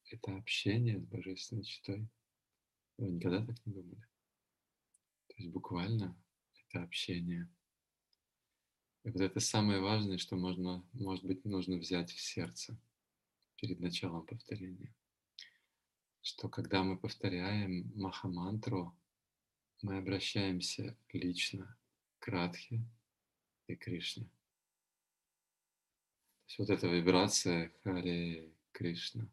это общение с Божественной Читой. Вы никогда так не думали? То есть буквально это общение. И вот это самое важное, что можно, может быть, нужно взять в сердце перед началом повторения. Что когда мы повторяем Махамантру, мы обращаемся лично к Радхе и Кришне. То есть вот эта вибрация Харе Кришна.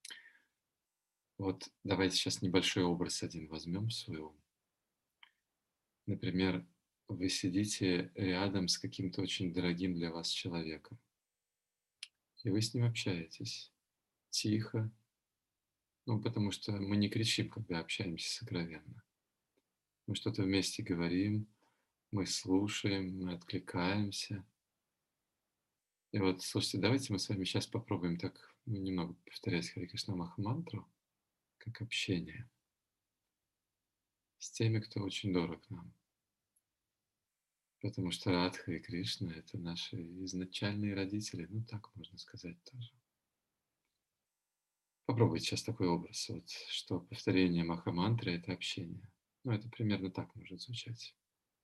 Вот давайте сейчас небольшой образ один возьмем в свой ум. Например, вы сидите рядом с каким-то очень дорогим для вас человеком, и вы с ним общаетесь тихо, ну, потому что мы не кричим, когда общаемся сокровенно. Мы что-то вместе говорим, мы слушаем, мы откликаемся. И вот, слушайте, давайте мы с вами сейчас попробуем так немного повторять Харе Кришна Махамантру, как общение с теми, кто очень дорог нам. Потому что Радха и Кришна — это наши изначальные родители, ну так можно сказать тоже. Попробуйте сейчас такой образ, вот, что повторение Махамантры — это общение. Ну, это примерно так может звучать.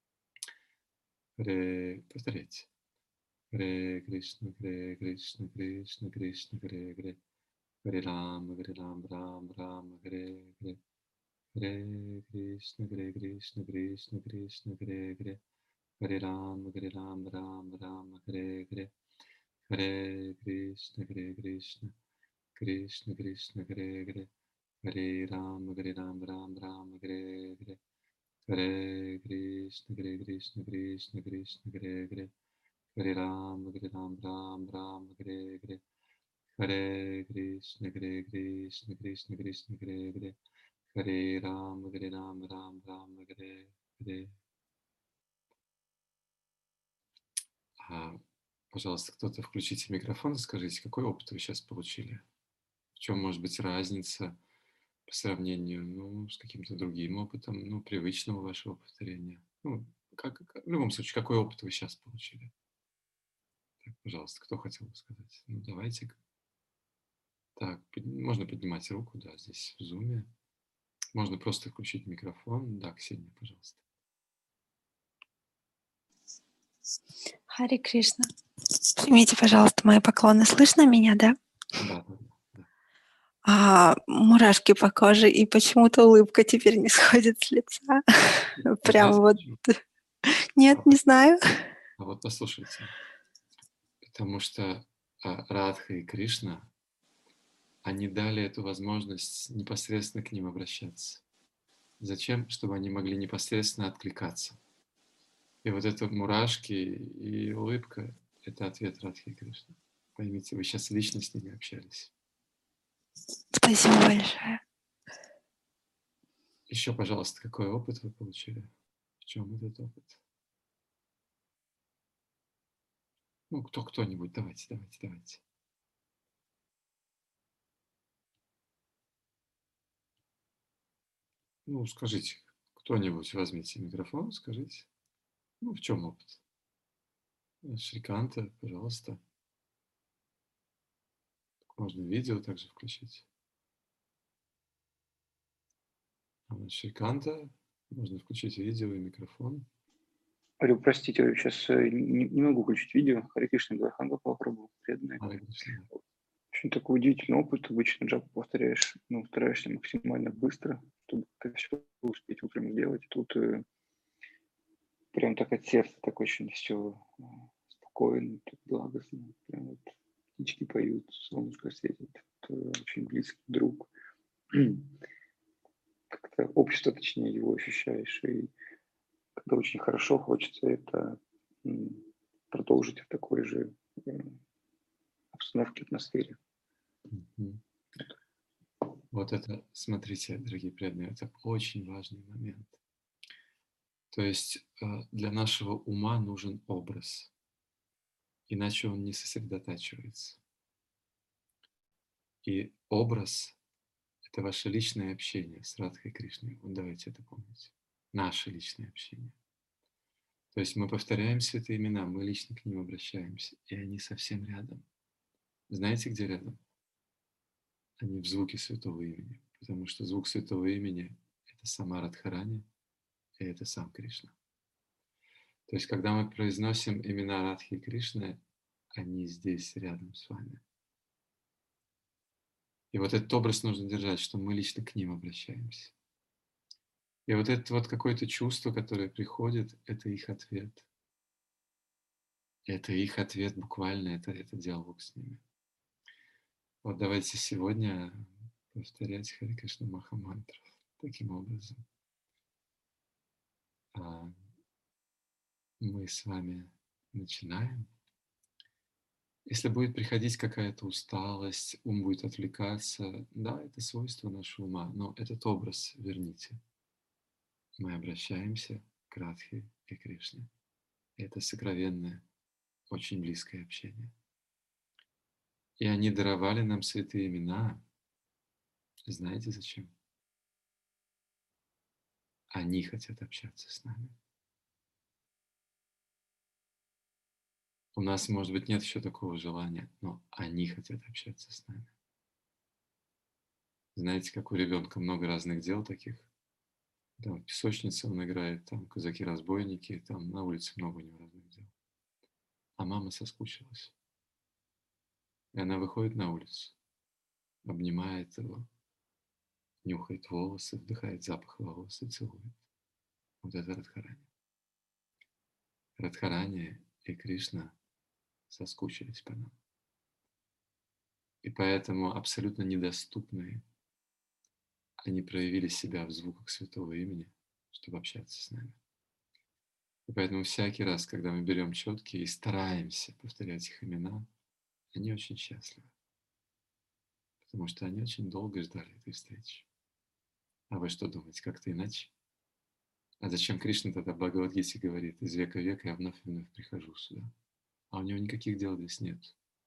Повторяйте. Харе Кришна, Кришна, Кришна, Харе. Харе Рам, Рам, Харе. Харе Кришна, Кришна, Кришна, Кришна, Харе. Харе Рам, Рам, Харе. Харе Кришна, Кришна, Кришна, Кришна, Харе. Харе Рам, Харе. Харе Кришна, Кришна, Кришна, Кришна, Харе. Харе Рам, Харе. Харе Кришна, Кришна, Кришна, Кришна, Харе. Харе Рам, Харе. А, пожалуйста, кто-то включите микрофон и скажите, какой опыт вы сейчас получили? В чем может быть разница по сравнению, ну, с каким-то другим опытом, ну, привычного вашего повторения? Ну, в любом случае, какой опыт вы сейчас получили? Так, пожалуйста, кто хотел бы сказать? Ну, давайте. Так, можно поднимать руку, да, здесь в зуме. Можно просто включить микрофон. Да, Ксения, пожалуйста. Харе Кришна. Примите, пожалуйста, мои поклоны. Слышно меня, да? Да. Мурашки по коже, и почему-то улыбка теперь не сходит с лица. Прям вот. Нет, не знаю. А вот послушайте. Потому что Радха и Кришна, они дали эту возможность непосредственно к ним обращаться. Зачем? Чтобы они могли непосредственно откликаться. И вот это мурашки и улыбка — это ответ Радхи и Кришны. Поймите, вы сейчас лично с ними общались. Спасибо большое. Еще, пожалуйста, какой опыт вы получили? В чем этот опыт? Ну, кто-нибудь, давайте. Ну, скажите, кто-нибудь, возьмите микрофон, скажите. Ну, в чем опыт? Шриканта, пожалуйста. Можно видео также включить. Шриканта, можно включить видео и микрофон. Алло, простите, я сейчас не могу включить видео. Харе Кришна, Галаханга попробовал, преданный. Очень такой удивительный опыт. Обычно джапу повторяешь, стараешься максимально быстро, чтобы это все успеть утром сделать. Тут прям так от сердца так очень все спокойно, так благостно. Прям вот птички поют, солнышко светит. Очень близкий друг. Как-то общество, точнее, его ощущаешь. И когда очень хорошо, хочется это продолжить в такой же обстановке, атмосфере. Вот это, смотрите, дорогие преданные, это очень важный момент. То есть для нашего ума нужен образ, иначе он не сосредотачивается. И образ — это ваше личное общение с Радхой Кришной. Вот давайте это помните. Наше личное общение. То есть мы повторяем святые имена, мы лично к ним обращаемся, и они совсем рядом. Знаете, где рядом? а не в звуке святого имени. Потому что звук святого имени – это сама Радхарани, и это сам Кришна. То есть, когда мы произносим имена Радхи и Кришны, они здесь, рядом с вами. И вот этот образ нужно держать, что мы лично к ним обращаемся. И вот это вот какое-то чувство, которое приходит, это их ответ. Это их ответ буквально, это диалог с ними. Вот давайте сегодня повторять Харе Кришна Махамантру таким образом. Мы с вами начинаем. Если будет приходить какая-то усталость, ум будет отвлекаться, да, это свойство нашего ума, но этот образ верните. Мы обращаемся к Радхе и Кришне. Это сокровенное, очень близкое общение. И они даровали нам святые имена. Знаете зачем? Они хотят общаться с нами. У нас, может быть, нет еще такого желания, но они хотят общаться с нами. Знаете, как у ребенка много разных дел таких. Там в песочнице он играет, там казаки-разбойники, там на улице много у него разных дел. А мама соскучилась. И она выходит на улицу, обнимает его, нюхает волосы, вдыхает запах волос и целует. Вот это Радхарани. Радхарани и Кришна соскучились по нам. И поэтому абсолютно недоступные они проявили себя в звуках святого имени, чтобы общаться с нами. И поэтому всякий раз, когда мы берем четкие и стараемся повторять их имена, они очень счастливы. Потому что они очень долго ждали этой встречи. А вы что думаете, как-то иначе? А зачем Кришна тогда в Бхагавад-гите говорит: из века в век я вновь и вновь прихожу сюда? А у него никаких дел здесь нет.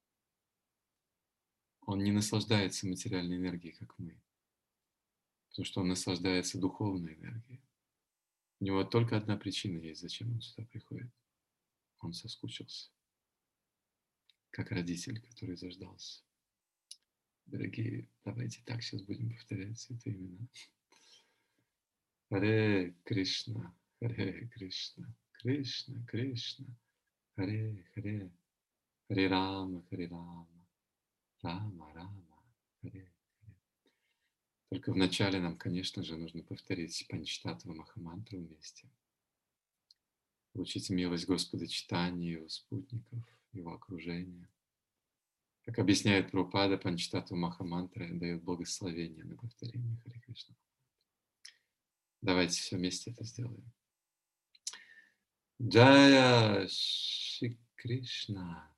Он не наслаждается материальной энергией, как мы. Потому что он наслаждается духовной энергией. У него только одна причина есть, зачем он сюда приходит. Он соскучился. Как родитель, который заждался. Дорогие, давайте так сейчас будем повторять святые имена. Харе Кришна, Харе Кришна, Кришна, Кришна, Харе, Харе, Харе Рама, Рама, Рама, Харе, Харе. Только вначале нам, конечно же, нужно повторить Панчтаттва Махамантру вместе. Получить милость Господа читания, его спутников, его окружения. Как объясняет Прабхупада, Панчтаттва Махамантра дает благословение на повторение Харе Кришна. Давайте все вместе это сделаем. Джая Шри Кришна,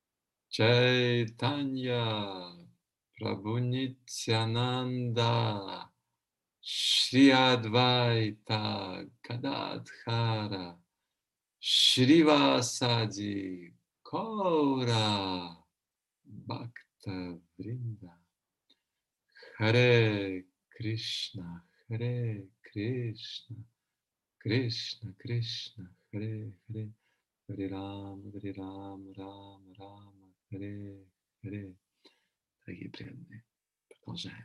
Чайтанья Прабху Нитьянанда, Шри Адвайта Гададхара, Шривасади Кора Бхакта Вринда. Харе Кришна, Харе Кришна, Кришна, Кришна, Харе, Харе, Харе Рама, Рама, Рама, Харе, Харе. Дорогие преданные, продолжаем.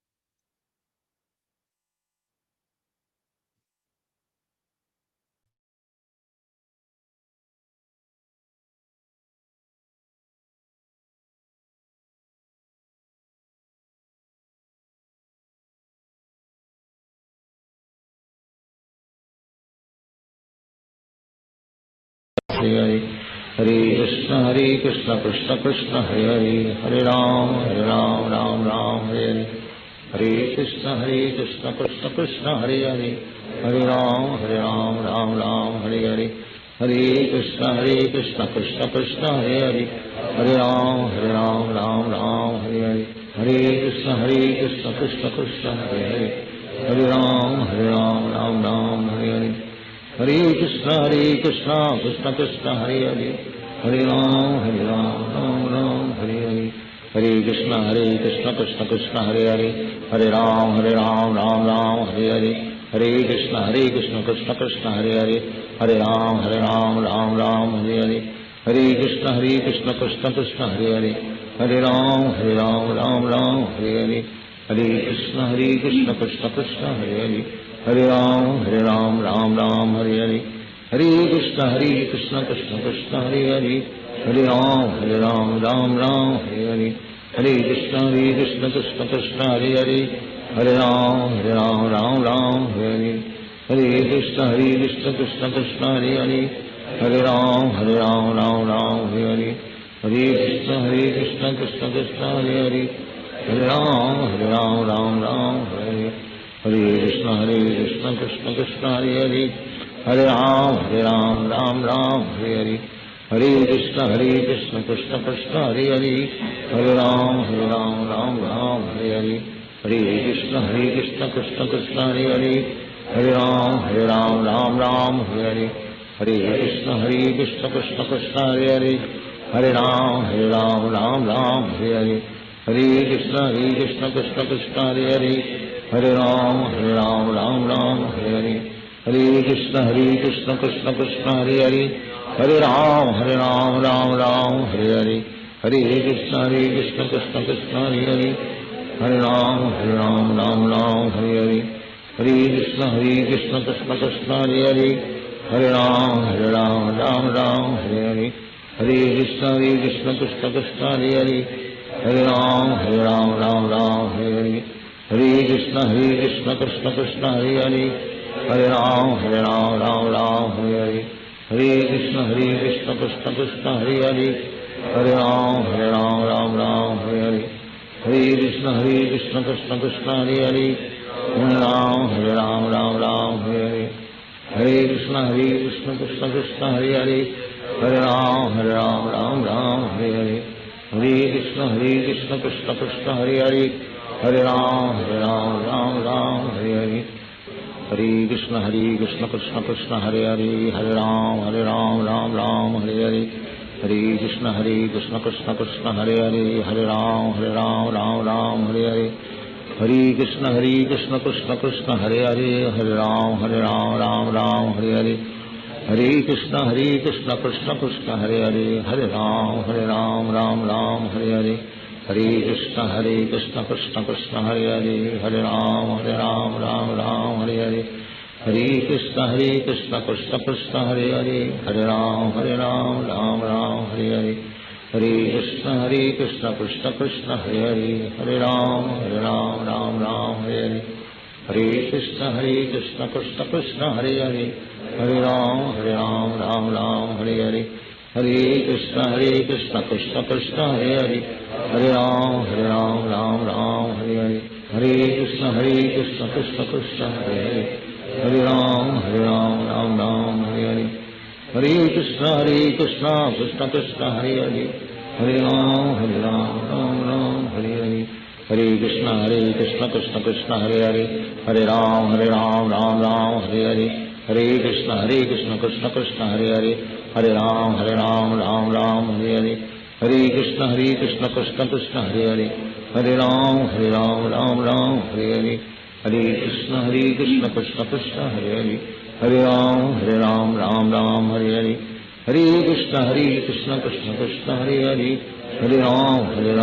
Hare Hare Krishna Krishna Krishna Hare Hare Hare Ram Ram Ram Hare Hare Krishna Krishna Krishna Hare Hare Hare Ram Ram Hare Hare Hare Krishna Krishna Krishna Hare Hare Hare Ram Ram Hare Hare Hare Krishna Krishna Krishna Hare Hare Hare Ram Ram Hare Hare Hare Krishna Krishna Krishna Hare Hare Hare Ram Ram Hare Hare Hare Krishna Krishna Krishna Hare Hare Hare Ram Ram Hare Hare Hare Krishna Krishna Krishna Hare Hare Hare Ram Ram Hare Hare Hare Krishna Krishna Krishna Hare Hare Hare Ram Ram Ram Hare Hare Hare Krishna Krishna Krishna Hare Hare Hare Ram Ram Hare Hare Hare Krishna Krishna Krishna Hare Hare Hare Ram Ram Hare Hare Hare Krishna Krishna Krishna Hare Hare Hare Ram Ram Hare Hare Hare Krishna Krishna Krishna Hare Hare Hare Ram Ram Hare Hare Hare Krishna Krishna Krishna Hare Hare Hare Ram Ram Hare Hare Krishna Krishna Krishna Hare Hare Hare Ram Hare Hare Hare Krishna Krishna Krishna Hare Hare Hare Ram Hare Hare Hare Krishna Krishna Krishna Hare Hare Hare Ram Hare Hare Hare Krishna Krishna Krishna Hare Hare Hare Ram Hare Hare Hare Krishna Krishna Krishna Hare Hare Hare Ram Hare Hare Hare Krishna Krishna Krishna Hare Hare Hare Ram Hare Hare Hare Krishna Krishna Krishna Hare Hare Hare Ram Hare Hare Hare Krishna Krishna Krishna Hare Hare Hare Ram Hare Hare Hare Krishna Krishna Krishna Hare Hare Hare Ram Hare Hare Hare Krishna Krishna Krishna Hare Hare Hare Ram Hare Hare Hare Krishna Krishna Krishna Hare Hare Hare Ram Hare Hare Hare Krishna Krishna Krishna Hare Hare Hare Ram Hare Hare Hare Krishna Krishna Krishna Hare Hare Hare Ram Hare Hare Hare Krishna Krishna Krishna Hare Hare Hare Ram Hare Hare Hare Krishna Krishna Krishna Hare Hare Hare Ram Hare Hare Hare Krishna Krishna Krishna Hare Hare Hare Ram Hare Hare Hare Krishna Krishna Krishna Hare Hare Hare Ram Hare Hare Hare Krishna Krishna Krishna Hare Hare Hare Ram Hare Hare Hare Krishna Krishna Krishna Hare Hare Hare Ram Hare Hare Hare Krishna Krishna Krishna Hare Hare Hare Ram Hare Hare Hare Krishna Krishna Krishna Hare Hare Hare Ram Hare Hare Hare Krishna Krishna Krishna Hare Hare Hare Ram Hare Hare Hare Krishna Krishna Krishna Hare Hare Hare Ram Hare Hare Hare Krishna Krishna Krishna Hare Hare Hare Ram Hare Hare Hare Krishna Krishna Krishna Hare Hare Hare Ram Hare Hare Hare Krishna Krishna Krishna Hare Hare Hare Ram Hare Hare Hare Krishna Krishna Krishna Hare Hare Hare Ram Hare Hare Hare Krishna Krishna Krishna Hare Hare Hare Ram Hare Hare Hare Krishna Krishna Krishna Hare Hare Hare Ram Hare Hare Hare Krishna Krishna Krishna Hare Hare Hare Ram Hare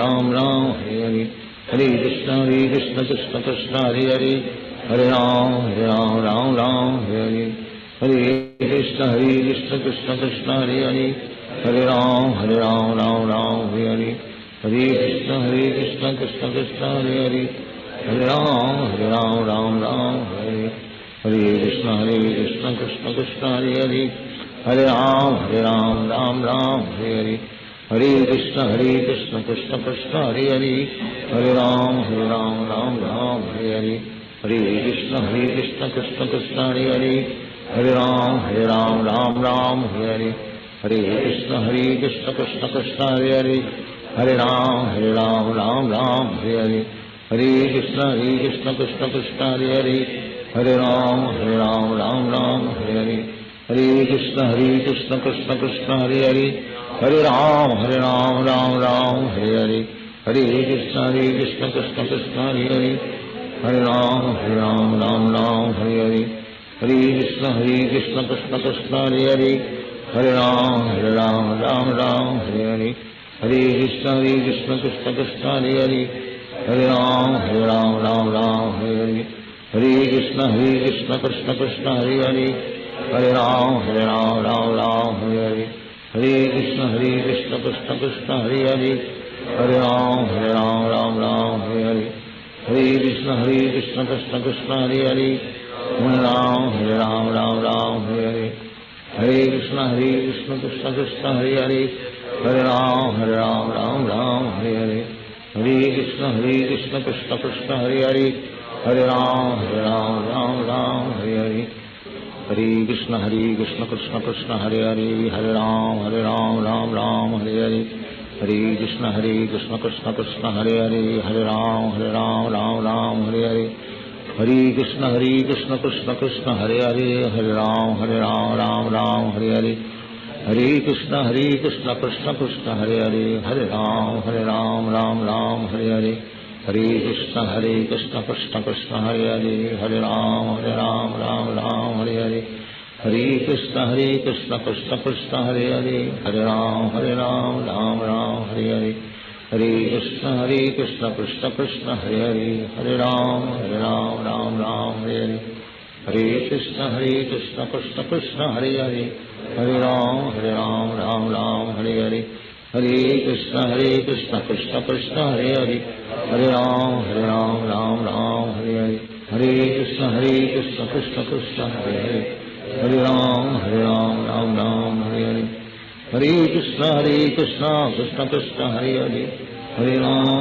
Hare Hare Krishna Krishna Krishna Hare Hare Hare Ram Hare Hare Hare Krishna Krishna Krishna Hare Hare Hare Ram Hare Hare Hare Krishna Krishna Krishna Hare Hare Hare Ram Hare Hare Hare Krishna Krishna Krishna Hare Hare Hare Ram Hare Hare Hare Krishna Krishna Krishna Hare Hare Hare Ram Hare Hare Hare Krishna Krishna Krishna Hare Hare Hare Ram Hare Hare Hare Krishna Krishna Krishna Hare Hare Hare Ram Hare Hare Hare Krishna Krishna Krishna Hare Hare Hare Ram Hare Hare Hare Krishna Krishna Krishna Hare Hare Hare Ram Hare Hare Hare Krishna Krishna Krishna Hare Hare Hare Ram Hare Hare Hare Krishna Krishna Krishna Hare Hare Hare Ram Hare Hare Hare Hare Krishna Krishna Krishna Hare Hare Hare Ram Ram Ram Hare Hare Hare Krishna Krishna Krishna Hare Hare Hare Ram Ram Hare Hare Hare Krishna Krishna Krishna Hare Hare Hare Ram Ram Hare Hare Hare Krishna Krishna Krishna Hare Hare Hare Ram Ram Hare Hare Hare Krishna Krishna Krishna Hare Hare Hare Ram Ram Hare Hare Hare Krishna Krishna Krishna Hare Hare Hare Ram Ram Hare Hare Hare Krishna Krishna Krishna Hare Hare Hare Ram Ram Hare Hare Hare Krishna Krishna Krishna Hare Hare Hare Ram Ram Hare Hare Hare Krishna Krishna Krishna Hare Hare Hare Ram Hare Hare Hare Krishna Krishna Krishna Hare Hare Hare Ram Hare Hare Hare Krishna Krishna Krishna Hare Hare Hare Ram Hare Hare Hare Krishna Krishna Krishna Hare Hare Hare Ram Hare Hare Hare Krishna Krishna Krishna Hare Hare Hare Ram Hare Hare Hare Krishna Krishna Krishna Hare Hare Hare Ram Hare Hare Hare Krishna Krishna Krishna Hare Hare Hare Ram Hare Hare Hare Krishna Krishna Krishna Hare Hare Hare Ram Hare Hare Hare Krishna Krishna Krishna Hare Hare Hare Ram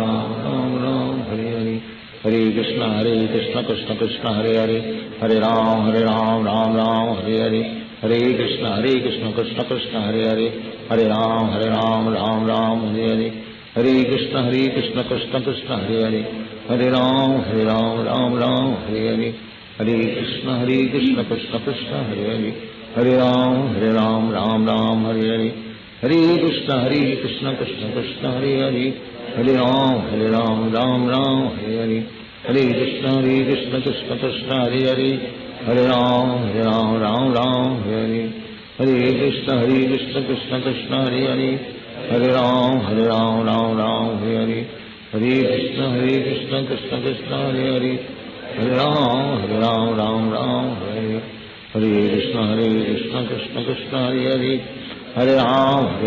Hare Hare Hare Krishna Krishna Krishna Hare Hare Hare Ram Hare Hare Hare Krishna Krishna Krishna Hare Hare Hare Ram Hare Hare Hare Krishna Krishna Krishna Hare Hare Hare Ram Hare Hare Hare Krishna Krishna Krishna Hare Hare Hare Ram Hare Hare Hare Krishna Krishna Krishna Hare Hare Hare Ram Hare Hare Hare Krishna Krishna Krishna Hare Hare Hare Ram Hare Hare Hare Krishna Krishna Krishna Hare Hare Hare Ram Hare Hare Hare Krishna Krishna Krishna Hare Hare Hare Ram Hare Hare Hare Krishna Krishna Krishna Hare Hare Hare Ram Hare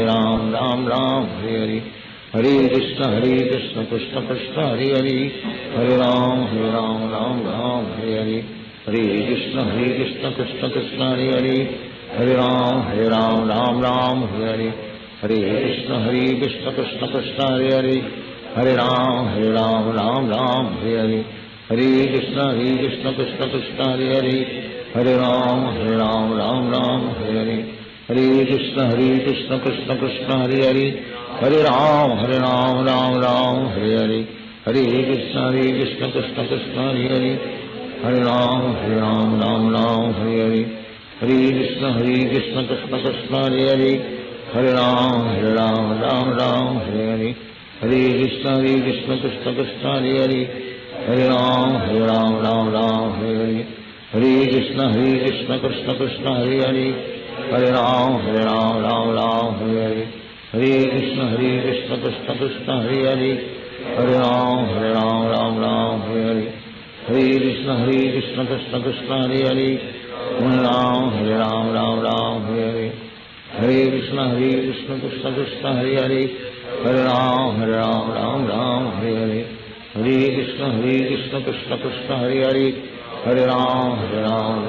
Hare Hare Krishna Krishna Krishna Hare Hare Hare Ram Hare Hare Hare Krishna Krishna Krishna Hare Hare Hare Ram Hare Hare Hare Krishna Krishna Krishna Hare Hare Hare Ram Hare Hare Hare Krishna Krishna Krishna Hare Hare Hare Ram Hare Hare Hare Krishna Krishna Krishna Hare Hare Hare Ram Hare Hare Hare Krishna Krishna Krishna Hare Hare Hare Ram Hare Hare Hare Krishna Krishna Krishna Hare Hare Hare Ram Hare Hare Hare Krishna Krishna Krishna Hare Hare Hare Ram Hare Hare Hare Krishna Krishna Krishna Hare Hare Hare Ram Hare Hare Hare Krishna Krishna Krishna Hare Hare Hare Ram Hare Hare Hare Krishna Krishna Krishna Hare Hare Hare Ram Hare Hare Hare Krishna Krishna Krishna Hare Hare Hare Ram Hare Hare Hare Krishna Krishna Krishna Hare Hare Hare Ram Hare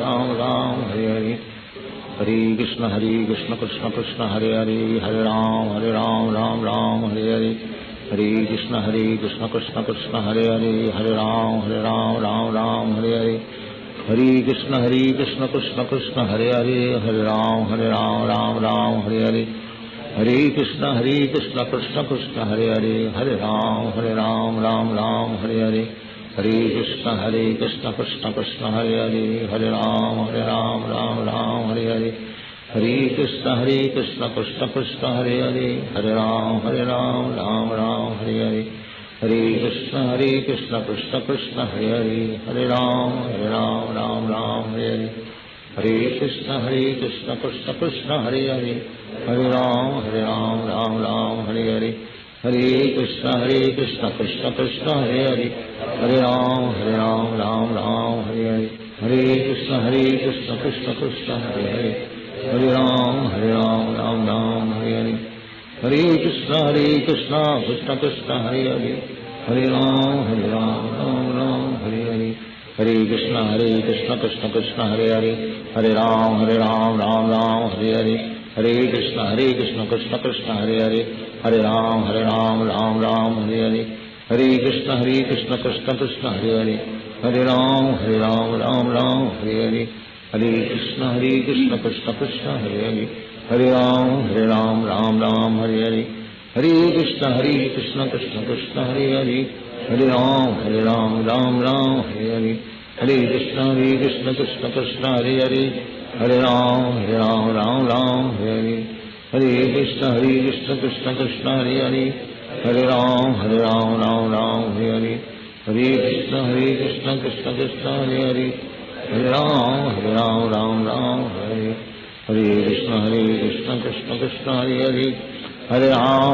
Hare Hare Krishna Krishna Krishna Hare Hare Hare Ram Hare Hare Hare Krishna Krishna Krishna Hare Hare Hare Ram Hare Hare Hare Krishna Krishna Krishna Hare Hare Hare Ram Hare Hare Hare Krishna Krishna Krishna Hare Hare Hare Ram Hare Hare Hare Krishna Krishna Krishna Hare Hare Hare Ram Hare Hare Hare Krishna Krishna Krishna Hare Hare Hare Ram Hare Hare Hare Krishna Krishna Krishna Hare Hare Hare Ram Hare Hare Hare Krishna Krishna Krishna Hare Hare, Hare Ram Ram Ram Hare Hare, Hare Krishna Krishna Krishna Hare Hare, Hare Ram Ram Ram Hare Hare, Hare Krishna Krishna Krishna Hare Hare, Hare Ram Ram Ram Hare Hare, Hare Krishna Krishna Krishna Hare Hare, Hare Ram Ram Ram Hare Hare, Hare Krishna Krishna Krishna Hare Hare, Hare Ram Ram Ram Hare Hare, Hare Krishna Krishna Krishna Hare Hare, Hare Ram Ram Hare Hare, Hare Krishna Krishna Krishna Hare Hare, Hare Ram Ram Hare Hare, Hare Krishna Krishna Krishna Hare Hare, Hare Ram Ram Hare Hare, Hare Krishna Krishna Krishna Hare Hare, Hare Ram Ram Hare Hare, Hare Krishna Krishna Krishna Hare Hare, Hare Ram Ram Hare Hare, Hare Krishna Krishna Krishna Hare Hare, Hare Ram Ram Hare Hare, Hare Krishna Krishna Krishna Hare Hare, Hare Ram Ram Hare Hare, Hare Krishna Krishna Krishna Hare Hare, Hare Ram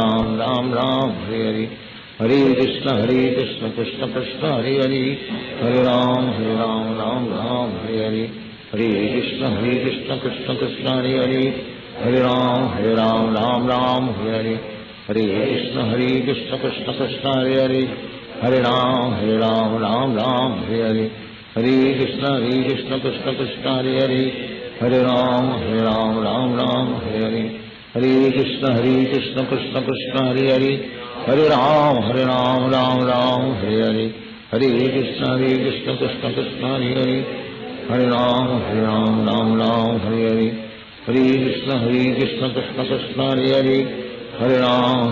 Ram Hare Hare, Hare Krishna Krishna Krishna Hare Hare, Hare Ram Ram Hare Hare, Hare Krishna Krishna Krishna Hare Hare, Hare Ram Ram Hare Hare, Hare Krishna Krishna Krishna Hare Hare, Hare Ram Ram Hare Hare, Hare Krishna Krishna Krishna Hare Hare, Hare Ram Ram Hare Hare, Hare Krishna Krishna Krishna Hare Hare, Hare Ram Ram Hare Hare, Hare Krishna Krishna Krishna Hare Hare, Hare Ram Ram Hare Hare, Hare Krishna Krishna Krishna Hare Hare, Hare Ram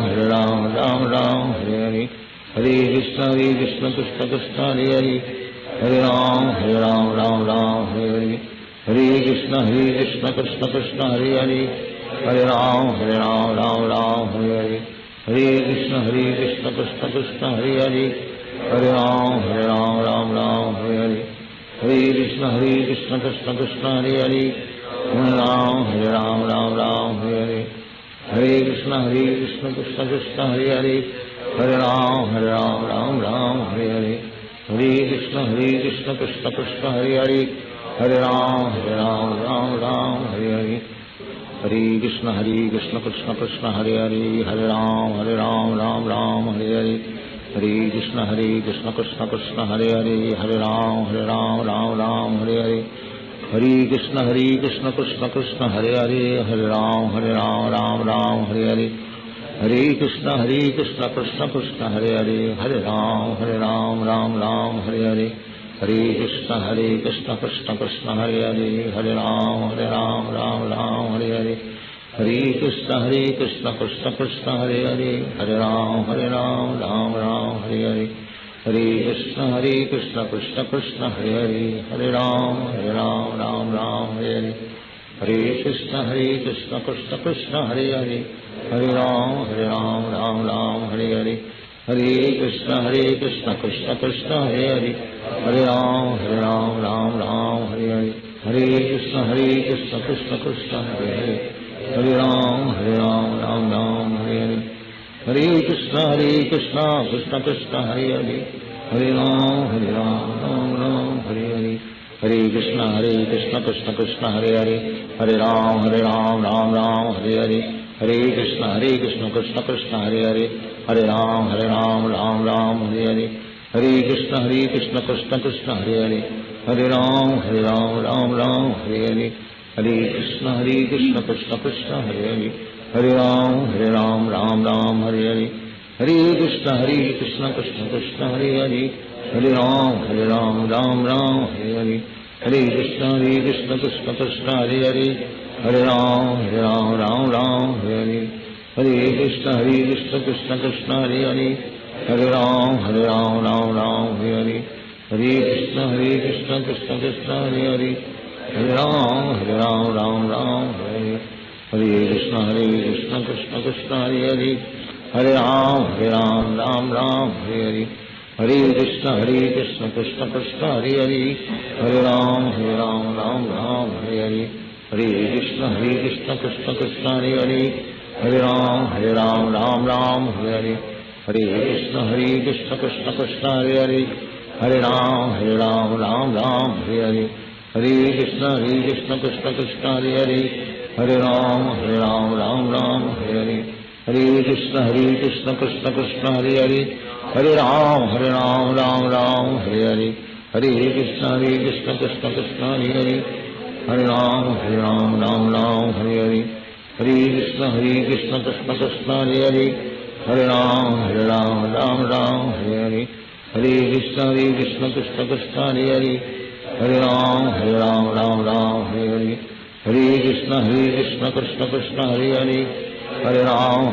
Ram Hare Hare, Hare Krishna Krishna Krishna Hare Hare, Hare Ram Ram Hare Hare, Hare Krishna Krishna Krishna Hare Hare, Hare Ram Hare Hare, Hare Krishna Krishna Krishna Hare Hare, Hare Ram Hare Hare, Hare Krishna Krishna Krishna Hare Hare, Hare Ram Hare Hare, Hare Krishna Krishna Krishna Hare Hare, Hare Ram Hare Hare, Hare Krishna Krishna Krishna Hare Hare, Hare Ram Hare Hare, Hare Krishna Krishna Krishna Hare Hare, Hare Ram Hare Hare, Hare Krishna Krishna Krishna Hare Hare, Hare Ram Hare Hare, Hare Krishna Krishna Krishna Hare Hare, Hare Ram Hare Hare, Hare Krishna Krishna Krishna Hare Hare, Hare Ram Hare Hare, Hare Krishna Krishna Krishna Hare Hare, Hare Ram Hare Hare, Hare Krishna Krishna Krishna Hare Hare, Hare Ram Hare Hare, Hare Krishna Krishna Krishna Hare Hare, Hare Ram Hare Hare, Hare Krishna Krishna Krishna Hare Hare, Hare Ram Hare Hare, Hare Krishna Krishna Krishna Hare Hare, Hare Ram Hare Hare, Hare Krishna Krishna Krishna Hare Hare, Hare Ram Hare Hare, Hare Krishna Krishna Krishna Hare Hare, Hare Ram Hare Hare, Hare Krishna Krishna Krishna Hare Hare, Hare Ram Hare Hare, Hare Krishna Krishna Krishna Hare Hare, Hare Ram Hare Hare, Hare Krishna Krishna Krishna Hare Hare, Hare Ram Hare Hare, Hare Krishna Krishna Krishna Hare Hare, Hare Ram Hare Hare, Hare Krishna Krishna Krishna Hare Hare, Hare Ram Hare Hare, Hare Krishna Krishna Krishna Hare Hare, Hare Ram Hare Hare, Hare Krishna Krishna Krishna Hare Hare, Hare Ram Hare Hare, Hare Krishna Krishna Krishna Hare Hare, Hare Ram Hare Hare, Hare Krishna Krishna Krishna Hare Hare, Hare Ram Hare Hare, Hare Krishna Krishna Krishna Hare Hare, Hare Ram Ram Ram Hare Hare, Hare Krishna Krishna Krishna Hare Hare, Hare Ram Ram Hare Hare, Hare Krishna Krishna Krishna Hare Hare, Hare Ram Ram Hare Hare, Hare Krishna Krishna Krishna Hare Hare, Hare Ram Ram Hare Hare, Hare Krishna Krishna Krishna Hare Hare, Hare Ram Ram Hare Hare, Hare Krishna Krishna Krishna Hare Hare, Hare Ram Ram Hare Hare, Hare Krishna Krishna Krishna Hare Hare, Hare Ram Ram Hare Hare, Hare Krishna Krishna Krishna Hare Hare, Hare Ram Ram Hare Hare, Hare Krishna Krishna Krishna Hare Hare, Hare Ram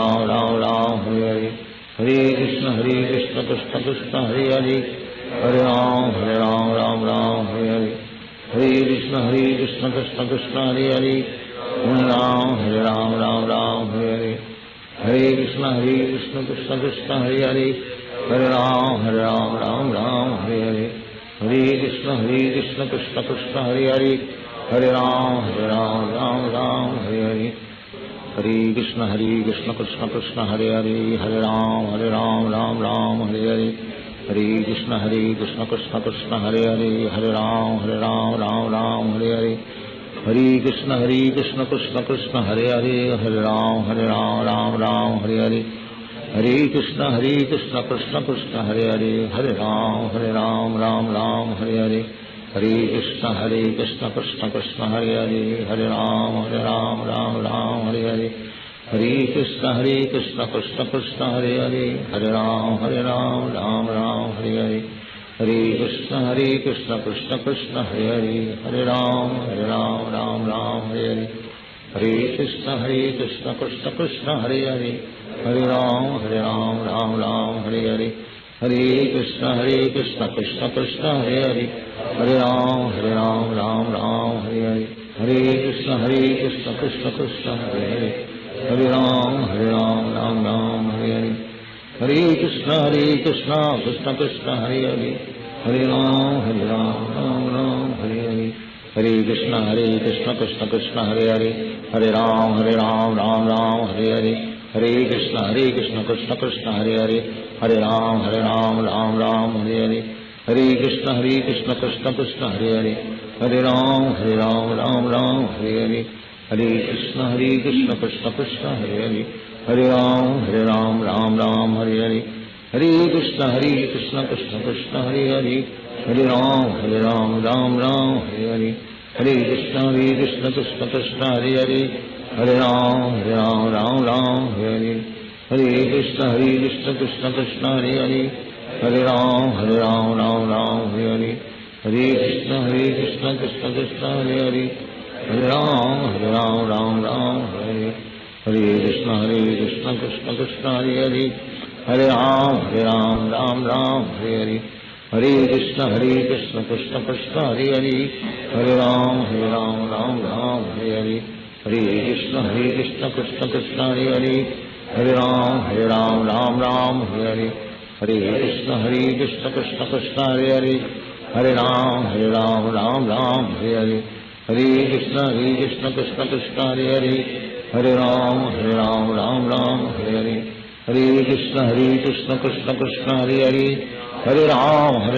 Ram Hare Hare, Hare Krishna Krishna Krishna Hare Hare, Hare Ram Ram Hare Hare, Hare Krishna Krishna Krishna Hare Hare, Hare Ram Ram Hare Hare, Hare Krishna Krishna Krishna Hare Hare, Hare Ram Ram Hare Hare, Hare Krishna Krishna Krishna Hare Hare, Hare Ram Ram Hare Hare, Hare Krishna Krishna Krishna Hare Hare, Hare Ram Ram Hare Hare, Hare Krishna Krishna Krishna Hare Hare, Hare Ram Ram Hare Hare, Hare Krishna Krishna Krishna Hare Hare, Hare Ram Ram Hare Hare, Hare Krishna Krishna Krishna Hare Hare, Hare Ram Ram Hare Hare, Hare Krishna Krishna Krishna Hare Hare, Hare Ram Ram Hare Hare, Hare Krishna Krishna Krishna Hare Hare, Hare Ram Ram Hare Hare, Hare Krishna Krishna Krishna Hare Hare, Hare Ram Ram Hare Hare, Hare Krishna Krishna Krishna Hare Hare, Hare Ram Hare Hare, Hare Krishna Krishna Krishna Hare Hare, Hare Ram Hare Hare, Hare Krishna Krishna Krishna Hare Hare, Hare Ram Hare Hare, Hare Krishna Krishna Krishna Hare Hare, Hare Ram Hare Hare, Hare Krishna Krishna Krishna Hare Hare, Hare Ram Hare Hare, Hare Krishna Krishna Krishna Hare Hare, Hare Ram Hare Hare, Hare Krishna Krishna Krishna Hare Hare, Hare Ram Hare Hare, Hare Krishna Krishna Krishna Hare Hare, Hare Ram Hare Hare, Hare Krishna Krishna Krishna Hare Hare, Hare Ram Hare Hare, Hare Krishna Krishna Krishna Hare Hare, Hare Ram Hare Hare, Hare Krishna Krishna Krishna Hare Hare, Hare Ram Hare Hare, Hare Krishna Krishna Krishna Hare Hare, Hare Ram Hare Hare, Hare Krishna Krishna Krishna Hare Hare, Hare Ram Hare Hare, Hare Krishna Krishna Krishna Hare Hare, Hare Ram Hare Hare, Hare Krishna Krishna Krishna Hare Hare, Hare Ram Hare Hare, Hare Krishna Krishna Krishna Hare Hare, Hare Ram Hare Hare, Hare Krishna Krishna Krishna Hare Hare, Hare Ram Hare Hare, Hare Krishna Krishna Krishna Hare Hare, Hare Ram Hare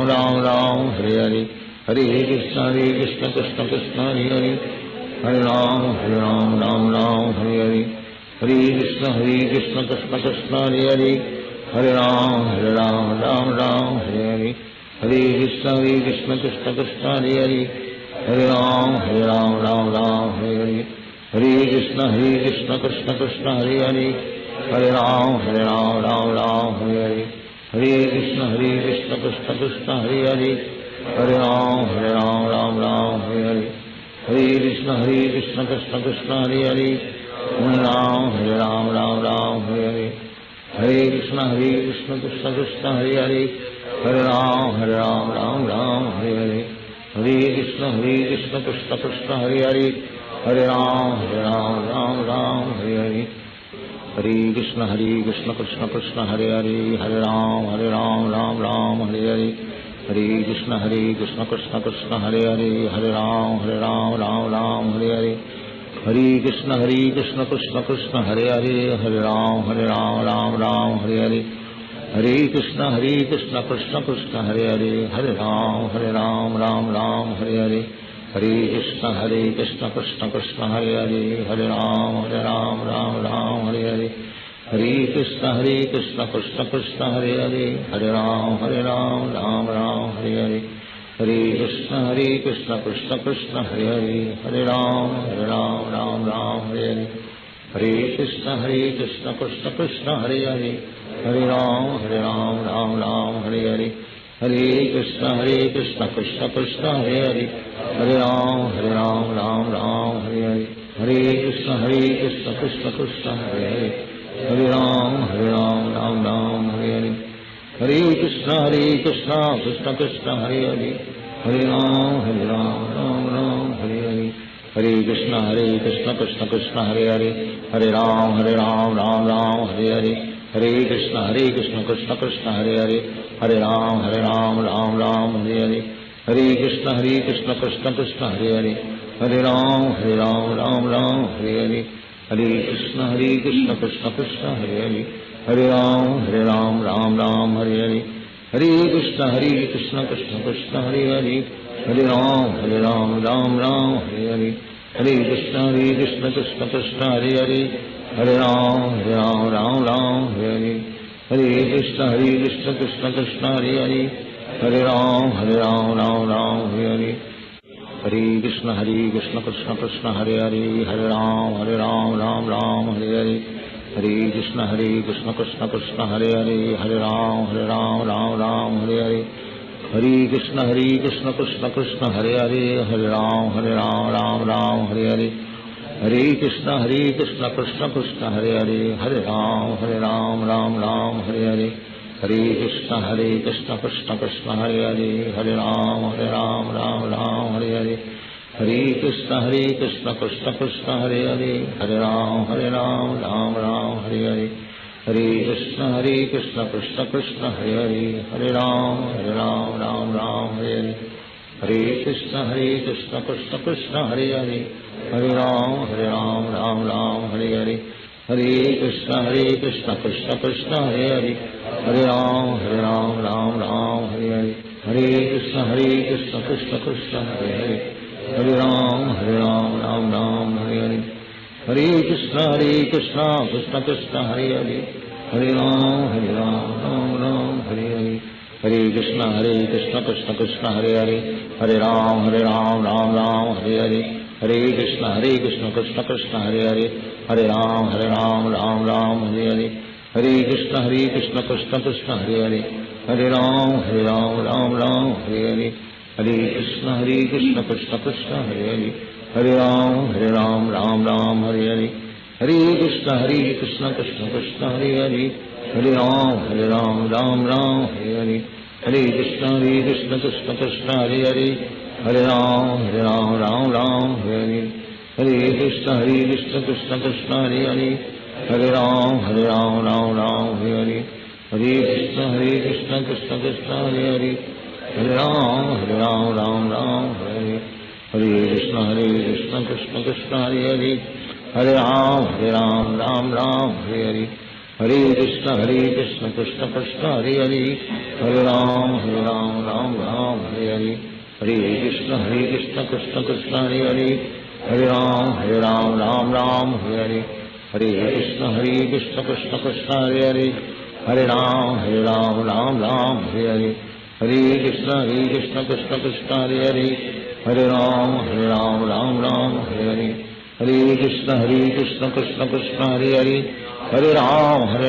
Hare, Hare Krishna Krishna Krishna Hare Hare, Hare Ram Hare Hare, Hare Krishna Krishna Krishna Hare Hare, Hare Ram Hare Hare, Hare Krishna Krishna Krishna Hare Hare, Hare Ram Hare Hare, Hare Krishna Krishna Krishna Hare Hare, Hare Ram Hare Hare, Hare Krishna Krishna Krishna Hare Hare, Hare Ram Hare Hare, Hare Krishna Krishna Krishna Hare Hare, Hare Ram Hare Hare, Hare Krishna Krishna Krishna Hare Hare, Hare Ram Hare Hare, Hare Krishna Krishna Krishna Hare Hare, Hare Ram Hare Hare, Hare Krishna Krishna Krishna Hare Hare, Hare Ram Ram Ram Hare Hare, Hare Krishna Krishna Krishna Hare Hare, Hare Ram Ram Hare Hare, Hare Krishna Krishna Krishna Hare Hare, Hare Ram Ram Hare Hare, Hare Krishna Krishna Krishna Hare Hare, Hare Ram Ram Hare Hare, Hare Krishna Krishna Krishna Hare Hare, Hare Ram Ram Hare Hare, Hare Krishna Krishna Krishna Hare Hare, Hare Ram Ram Hare Hare, Hare Krishna Krishna Krishna Hare Hare, Hare Ram Ram Hare Hare, Hare Krishna Krishna Krishna Hare Hare, Hare Ram Ram Hare Hare, Hare Krishna Krishna Krishna Hare Hare, Hare Ram Ram Hare Hare, Hare Krishna Krishna Krishna Hare Hare, Hare Ram Ram Hare Hare, Hare Krishna Krishna Krishna Hare Hare, Hare Ram Ram Hare Hare, Hare Krishna Krishna Krishna Hare Hare, Hare Ram Ram Hare Hare, Hare Krishna Krishna Krishna Hare Hare, Hare Ram Ram Hare Hare, Hare Krishna Krishna Krishna Hare Hare, Hare Ram Ram Hare Hare, Hare Krishna Krishna Krishna Hare Hare, Hare Ram Ram Hare Hare, Hare Krishna Krishna Krishna Hare Hare, Hare Ram Ram Hare Hare, Hare Krishna Krishna Krishna Hare Hare, Hare Ram Ram Hare Hare, Hare Krishna Krishna Krishna Hare Hare, Hare Ram Ram Hare Hare, Hare Krishna Krishna Krishna Hare Hare, Hare Ram Ram Hare Hare, Hare Krishna Krishna Krishna Hare Hare, Hare Ram Ram Hare Hare, Hare Krishna Krishna Krishna Hare Hare, Hare Ram Hare Hare, Hare Krishna Krishna Krishna Hare Hare, Hare Ram Hare Hare, Hare Krishna Krishna Krishna Hare Hare, Hare Ram Hare Hare, Hare Krishna Krishna Krishna Hare Hare, Hare Ram Hare Hare, Hare Krishna Krishna Krishna Hare Hare, Hare Ram Hare Hare, Hare Krishna Krishna Krishna Hare Hare, Hare Ram Hare Hare, Hare Krishna Krishna Krishna Hare Hare, Hare Ram Hare Hare, Hare Krishna Krishna Krishna Hare Hare, Hare Ram Hare Hare, Hare Krishna Krishna Krishna Hare Hare, Hare Ram Hare Hare, Hare Krishna Krishna Krishna Hare Hare, Hare Ram Hare Hare, Hare Krishna Krishna Krishna Hare Hare, Hare Ram Hare Hare, Hare Krishna Krishna Krishna Hare Hare, Hare Ram Hare Hare, Hare Krishna Krishna Krishna Hare Hare, Hare Ram Hare Hare, Hare Krishna Krishna Krishna Hare Hare, Hare Ram Hare Hare, Hare Krishna Krishna Krishna Hare Hare, Hare Ram Hare Hare, Hare Krishna Krishna Krishna Hare Hare, Hare Ram Hare Hare, Hare Krishna Krishna Krishna Hare Hare, Hare Ram Hare Hare, Hare Krishna Krishna Krishna Hare Hare, Hare Ram Hare Hare, Hare Krishna Krishna Krishna Hare Hare, Hare Ram Hare Hare, Hare Krishna Krishna Krishna Hare Hare, Hare Ram Hare Hare, Hare Krishna Krishna Krishna Hare Hare, Hare Ram Hare Hare, Hare Krishna Krishna Krishna Hare Hare, Hare Ram Hare Hare, Hare Krishna Krishna Krishna Hare Hare, Hare Ram Hare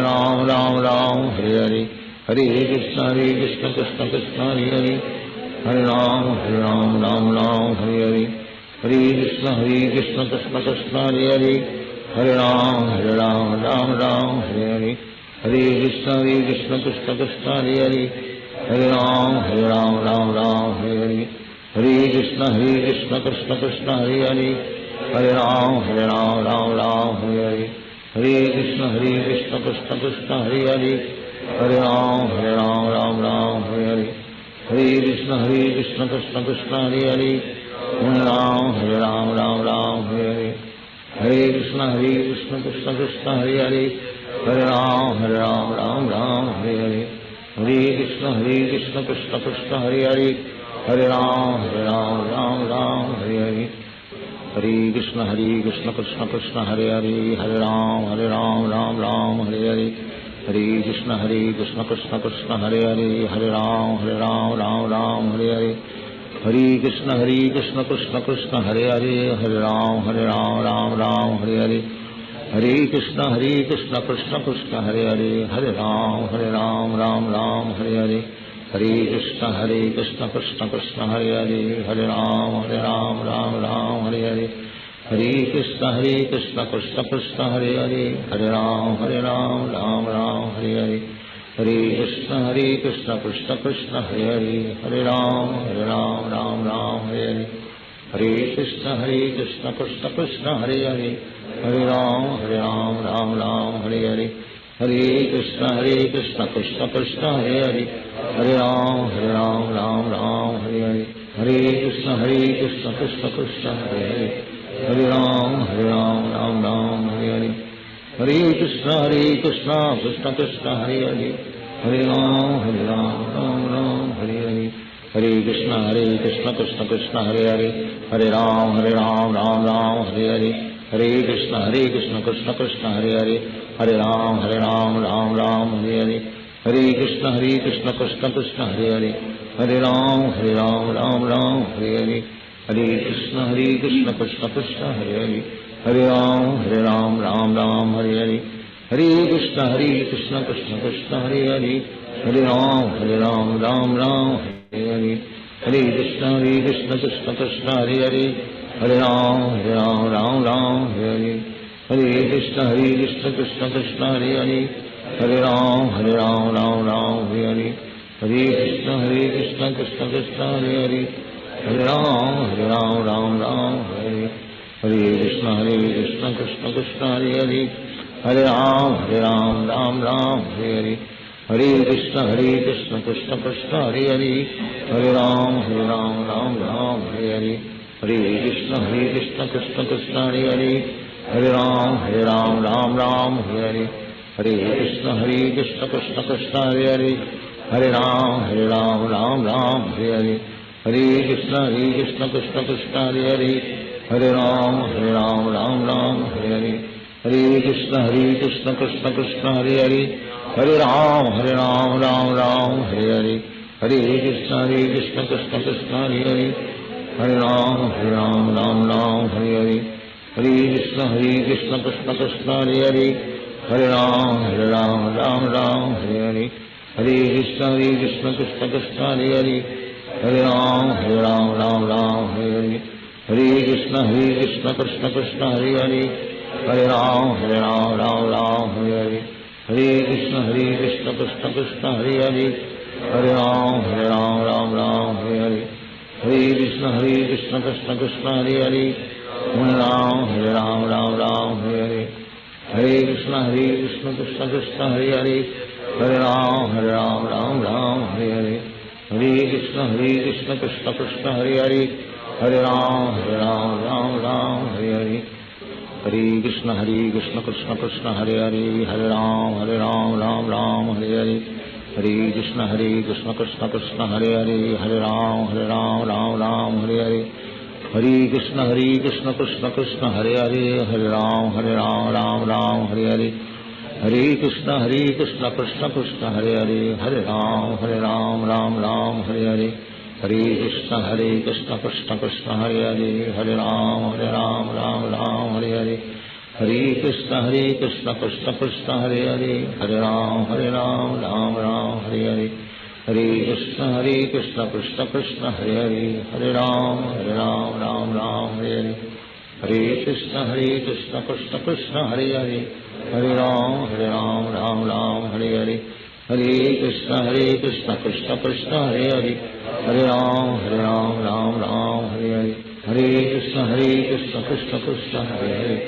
Hare, Hare Krishna Krishna Krishna Hare Hare, Hare Ram Hare Hare, Hare Krishna Krishna Krishna Hare Hare, Hare Ram Hare Hare, Hare Krishna Krishna Krishna Hare Hare, Hare Ram Hare Hare, Hare Krishna Krishna Krishna Hare Hare, Hare Ram Hare Hare, Hare Krishna Krishna Krishna Hare Hare, Hare Ram Ram Ram Hare Hare, Hare Krishna Krishna Krishna Hare Hare, Hare Ram Ram Ram Hare Hare, Hare Krishna Krishna Krishna Hare Hare, Hare Ram Ram Hare Hare, Hare Krishna Krishna Krishna Hare Hare, Hare Ram Ram Hare Hare, Hare Krishna Krishna Krishna Hare Hare, Hare Ram Ram Hare Hare, Hare Krishna Krishna Krishna Hare Hare, Hare Ram Ram Hare Hare, Hare Krishna Krishna Krishna Hare Hare, Hare Ram Ram Hare Hare, Hare Krishna Krishna Krishna Hare Hare, Hare Ram Ram Hare Hare, Hare Krishna Krishna Krishna Hare Hare, Hare Ram Ram Hare Hare, Hare Krishna Krishna Krishna Hare Hare, Hare Ram Ram Hare Hare, Hare Krishna Krishna Krishna Hare Hare, Hare Ram Ram Hare Hare, Hare Krishna Krishna Krishna Hare Hare, Hare Ram Hare Hare, Hare Krishna Krishna Krishna Hare Hare, Hare Ram Hare Hare, Hare Krishna Krishna Krishna Hare Hare, Hare Ram Hare Hare, Hare Krishna Krishna Krishna Hare Hare, Hare Ram Hare Hare, Hare Krishna Krishna Krishna Hare Hare, Hare Ram Hare Hare, Hare Krishna Krishna Krishna Hare Hare, Hare Ram Hare Hare, Hare Krishna Krishna Krishna Hare Hare, Hare Ram Hare Hare, Hare Krishna Krishna Krishna Hare Hare, Hare Ram Hare Hare, Hare Krishna Krishna Krishna Hare Hare, Hare Ram Hare Hare, Hare Krishna Krishna Krishna Hare Hare, Hare Ram Hare Hare, Hare Krishna Krishna Krishna Hare Hare, Hare Ram Hare Hare, Hare Krishna Krishna Krishna Hare Hare, Hare Ram Hare Hare, Hare Krishna Krishna Krishna Hare Hare, Hare Ram Hare Hare, Hare Krishna Krishna Krishna Hare Hare, Hare Ram Hare Hare, Hare Krishna Krishna Krishna Hare Hare, Hare Ram Hare Hare, Hare Krishna Krishna Krishna Hare Hare, Hare Ram Hare Hare, Hare Krishna Krishna Krishna Hare Hare, Hare Ram Hare Hare, Hare Krishna Krishna Krishna Hare Hare, Hare Ram Hare Hare, Hare Krishna Krishna Krishna Hare Hare, Hare Ram Hare Hare, Hare Krishna Krishna Krishna Hare Hare, Hare Ram Hare Hare, Hare Krishna Krishna Krishna Hare Hare, Hare Ram Hare Hare, Hare Krishna Krishna Krishna Hare Hare, Hare Ram Hare Hare, Hare Krishna Krishna Krishna Hare Hare, Hare Ram Hare Hare, Hare Krishna Krishna Krishna Hare Hare, Hare Ram Hare Hare, Hare Krishna Krishna Krishna Hare Hare, Hare Ram Hare Hare, Hare Krishna Krishna Krishna Hare Hare, Hare Ram Hare Hare, Hare Krishna Krishna Krishna Hare Hare, Hare Ram Hare Hare, Hare Krishna Krishna Krishna Hare Hare, Hare Ram Hare Hare, Hare Krishna Krishna Krishna Hare Hare, Hare Ram Hare Hare, Hare Krishna Krishna Krishna Hare Hare, Hare Ram Hare Hare, Hare Krishna Krishna Krishna Hare Hare, Hare Ram Hare Hare, Hare Krishna Krishna Krishna Hare Hare, Hare Ram Hare Hare, Hare Krishna Krishna Krishna Hare Hare, Hare Ram Hare Hare, Hare Krishna Krishna Krishna Hare Hare, Hare Ram Hare Hare, Hare Krishna Krishna Krishna Hare Hare, Hare Ram Hare Hare, Hare Krishna Krishna Krishna Hare Hare,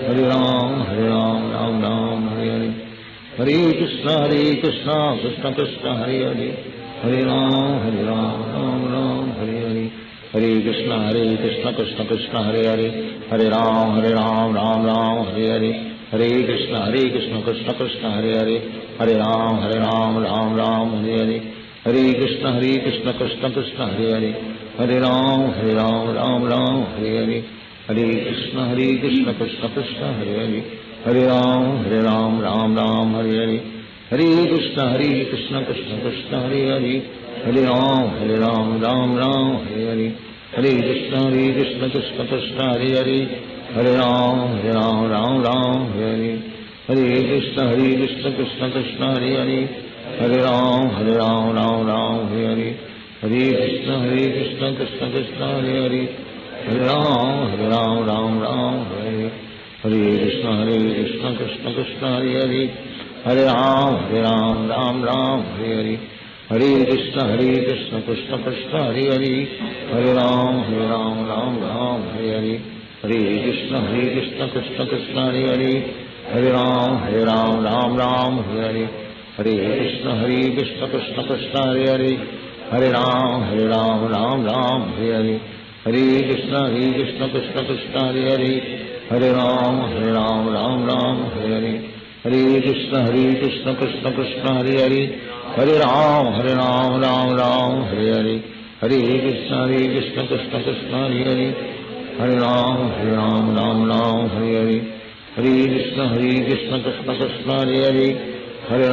Hare Ram, Ram Ram, Hare Hare. Hare Krishna, Krishna Krishna, Hare Hare. Hare Ram, Ram Hare Hare. Hare Krishna, Krishna Krishna, Hare Hare. Hare Ram, Ram Ram, Hare Hare. Hare Krishna, Krishna Krishna, Hare Hare. Hare Ram, Ram Ram, Hare Hare. Hare Krishna, Krishna Krishna, Hare Hare. Hare Ram, Ram Ram, Hare Hare. Hare Krishna, Krishna Krishna, Hare Hare. Hare Ram, Ram Ram, Hare Hare. Hare Krishna, Krishna Krishna, Hare Hare. Hare Ram, Ram Ram, Hare Hare. Hare Krishna, Krishna Krishna, Hare Hare. Hare Ram, Ram, Hare Hare. Hare Krishna, Krishna Krishna, Hare Hare. Hare Ram, Ram, Hare Hare. Hare Krishna, Krishna Krishna, Hare Hare. Hare Ram, Ram, Hare Hare. Hare Krishna, Krishna Krishna, Hare Hare. Hare Ram, Ram, Hare Hare. Hare Krishna, Krishna Krishna, Hare Hare. Hare Ram, Ram, Hare Hare. Hare Krishna, Krishna Krishna, Hare Hare. Hare Ram, Ram, Hare Hare. Hare Krishna, Krishna Krishna, Hare Hare. Hare Ram, Ram, Hare Hare. Hare Krishna, Krishna Krishna, Hare Hare. Hare Ram, Ram, Hare Hare. Hare Krishna, Krishna Krishna, Hare Hare. Hare Ram, Ram, Hare Hare. Hare Krishna, Krishna Krishna, Hare Hare. Hare Ram, Ram, Hare Hare. Hare Krishna, Krishna Krishna, Hare Hare. Hare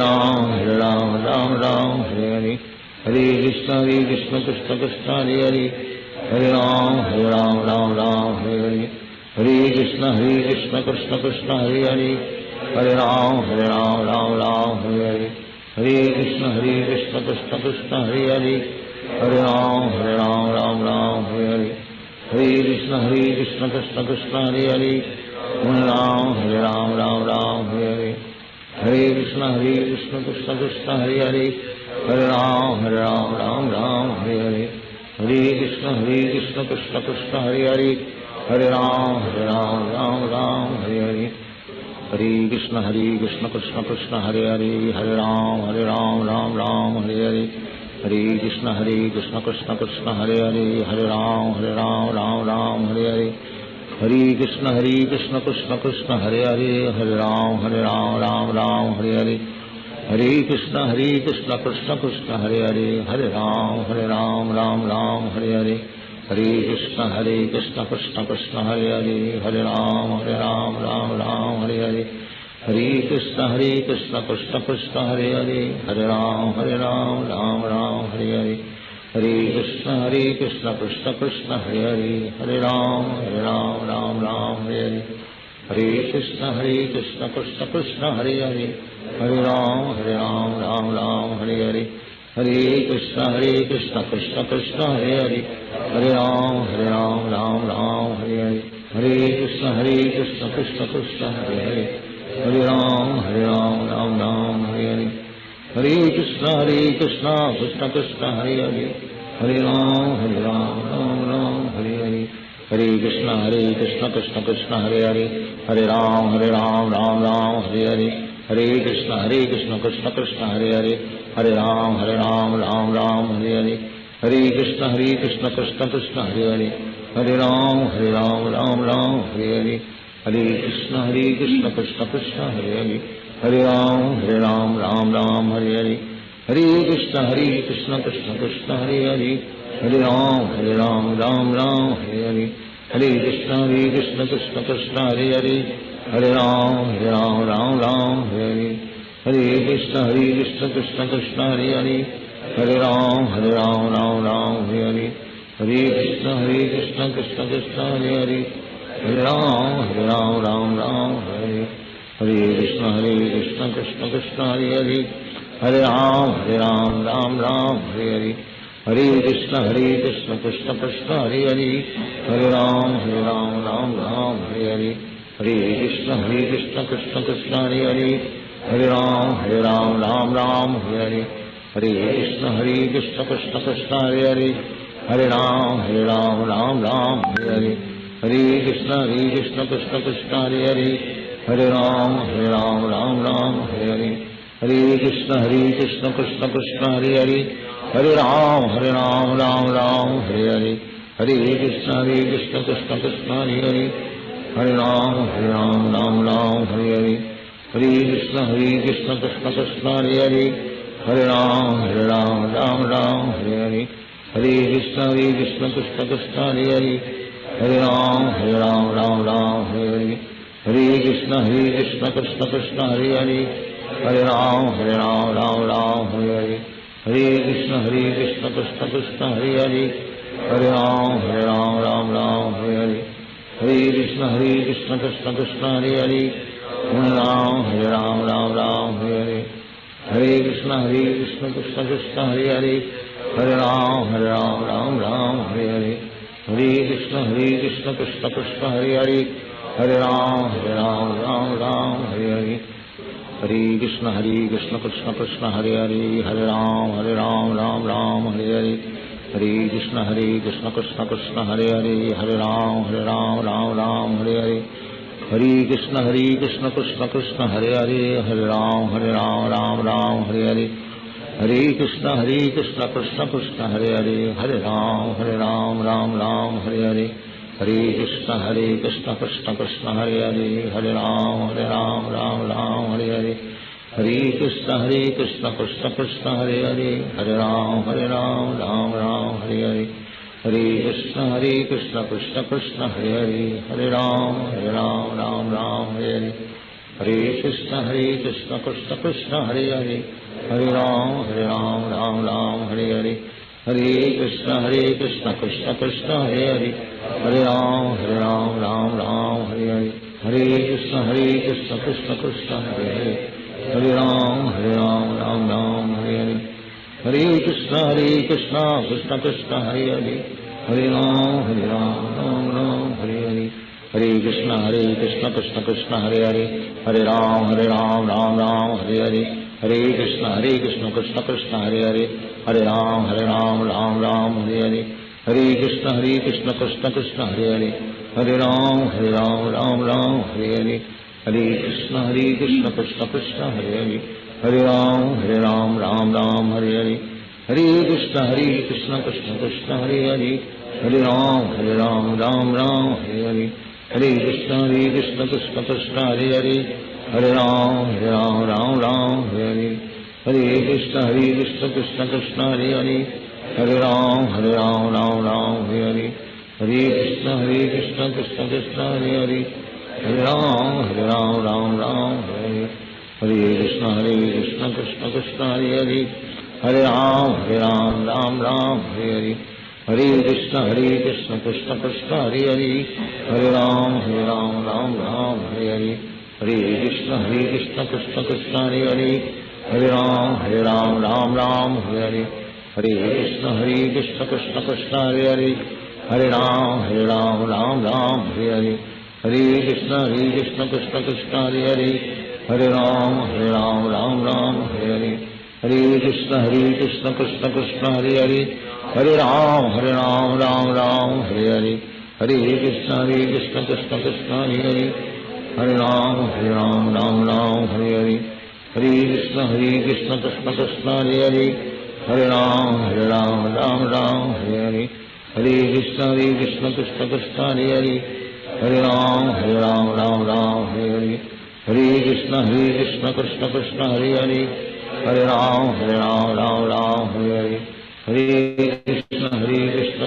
Ram, Hare Hare. Hare Krishna, Krishna Krishna, Hare Hare. Hare Ram, Hare Hare. Hare Krishna, Krishna Krishna, Hare Hare. Hare Ram, Hare Hare. Hare Krishna, Krishna Krishna, Hare Hare. Hare Ram, Hare Hare. Hare Krishna, Krishna Krishna, Hare Hare. Hare Ram, Hare Hare. Hare Krishna, Krishna Krishna, Hare Hare. Hare Ram, Hare Hare. Hare Krishna, Krishna Krishna, Hare Hare. Hare Ram, Hare Hare. Hare Krishna, Krishna Krishna, Hare Hare. Hare Ram, Hare Hare. Hare Krishna, Krishna Krishna, Hare Hare. Hare Ram, Hare Hare. Hare Krishna, Krishna Krishna, Hare Hare. Hare Ram, Hare Hare. Hare Krishna, Krishna Krishna, Hare Hare. Hare Ram, Hare Hare. Hare Krishna, Krishna Krishna, Hare Hare. Hare Ram, Hare Hare. Hare Krishna, Krishna Krishna, Hare Hare. Hare Ram, Hare Hare. Hare Krishna, Krishna Krishna, Hare Hare. Hare Ram, Hare Hare. Hare Krishna, Krishna Krishna, Hare Hare. Hare Ram, Hare Hare. Hare Krishna, Krishna Krishna, Hare Hare. Hare Ram, Hare Hare. Hare Krishna, Krishna Krishna, Hare Hare. Hare Ram, Hare Hare. Hare Krishna, Krishna Krishna, Hare Hare. Hare Ram, Hare Hare. Hare Krishna, Krishna Krishna, Hare Hare. Hare Ram, Hare Hare. Hare Krishna, Krishna Krishna, Hare Hare. Hare Ram, Hare Hare. Hare Krishna, Krishna Krishna, Hare Hare. Hare Ram, Hare Hare. Hare Krishna, Krishna Krishna, Hare Hare. Hare Ram, Hare Hare. Hare Krishna, Krishna Krishna, Hare Hare. Hare Ram, Hare Hare. Hare Krishna, Krishna Krishna, Hare Hare. Hare Ram, Hare Hare. Hare Krishna, Krishna Krishna, Hare Hare. Hare Ram, Hare Hare. Hare Krishna, Krishna Krishna, Hare Hare. Hare Ram, Hare Hare. Hare Krishna, Krishna Krishna, Hare Hare. Hare Ram, Hare Hare. Hare Krishna, Krishna Krishna, Hare Hare. Hare Ram, Hare Hare. Hare Krishna, Krishna Krishna, Hare Hare. Hare Ram, Hare Hare. Hare Krishna, Krishna Krishna, Hare Hare. Hare Ram, Hare Hare. Hare Krishna Krishna Krishna Hare Hare, Hare Ram Ram Ram Hare Hare, Hare Krishna Krishna Krishna Hare Hare, Hare Ram Ram Hare Hare, Hare Krishna Krishna Krishna Hare Hare, Hare Ram Ram Hare Hare, Hare Krishna Krishna Krishna Hare Hare, Hare Ram Ram Hare Hare, Hare Krishna Krishna Krishna Hare Hare, Hare Ram Hare Hare, Hare Krishna Krishna Krishna Hare Hare, Hare Ram Hare Hare, Hare Krishna Krishna Krishna Hare Hare, Hare Ram Hare Hare, Hare Krishna Krishna Krishna Hare Hare, Hare Ram Hare Hare, Hare Krishna Krishna Krishna Hare Hare, Hare Ram Hare Hare, Hare Krishna Krishna Krishna Hare Hare, Hare Ram Hare Hare, Hare Krishna Krishna Krishna Hare Hare, Hare Ram Hare Hare, Hare Krishna Krishna Krishna Hare Hare, Hare Ram Hare Hare, Hare Krishna Krishna Krishna Hare Hare, Hare Ram Hare Hare, Hare Krishna Krishna Krishna Hare Hare, Hare Ram Hare Hare Hare, Hare Krishna Krishna Krishna Hare Hare, Hare Ram Hare Hare Hare, Hare Krishna Krishna Krishna Hare Hare, Hare Ram Hare Hare Hare, Hare Krishna Krishna Krishna Hare Hare, Hare Ram Hare Hare, Hare Krishna Krishna Krishna Hare Hare, Hare Ram Hare Hare, Hare Krishna Krishna Krishna Hare Hare, Hare Ram Hare Hare, Hare Krishna Krishna Krishna Hare Hare, Hare Ram Hare Hare, Hare Krishna Krishna Krishna Hare Hare, Hare Ram Hare Hare Hare, Hare Krishna Krishna Krishna Hare Hare, Hare Ram Hare Hare Hare, Hare Krishna Krishna Krishna Hare Hare, Hare Ram Hare Hare, Hare Krishna Krishna Krishna Hare Hare, Hare Ram Hare Hare, Hare Krishna Krishna Krishna Hare Hare, Hare Ram Hare Hare, Hare Krishna Krishna Krishna Hare Hare, Hare Ram Hare Hare, Hare Krishna Krishna Krishna Hare Hare, Hare Ram Hare Hare, Hare Krishna Krishna Krishna Hare Hare, Hare Ram Hare Hare, Hare Krishna Krishna Krishna Hare Hare, Hare Ram Hare Hare, Hare Krishna Krishna Krishna Hare Hare, Hare Ram Hare Hare, Hare Krishna Krishna Krishna Hare Hare, Hare Ram Hare Hare, Hare Krishna Krishna Krishna Hare Hare, Hare Ram Hare Hare, Hare Krishna Krishna Krishna Hare Hare, Hare Ram Hare Hare, Hare Krishna Krishna Krishna Hare Hare, Hare Ram Hare Hare, Hare Krishna Krishna Krishna Hare Hare, Hare Ram Hare Hare, Hare Krishna Krishna Krishna Hare Hare, Hare Ram Hare Hare, Hare Krishna Krishna Krishna Hare Hare, Hare Ram Hare Hare, Hare Krishna Krishna Krishna Hare Hare, Hare Ram Hare Hare, Hare Krishna Krishna Krishna Hare Hare, Hare Ram Hare Hare, Hare Krishna Krishna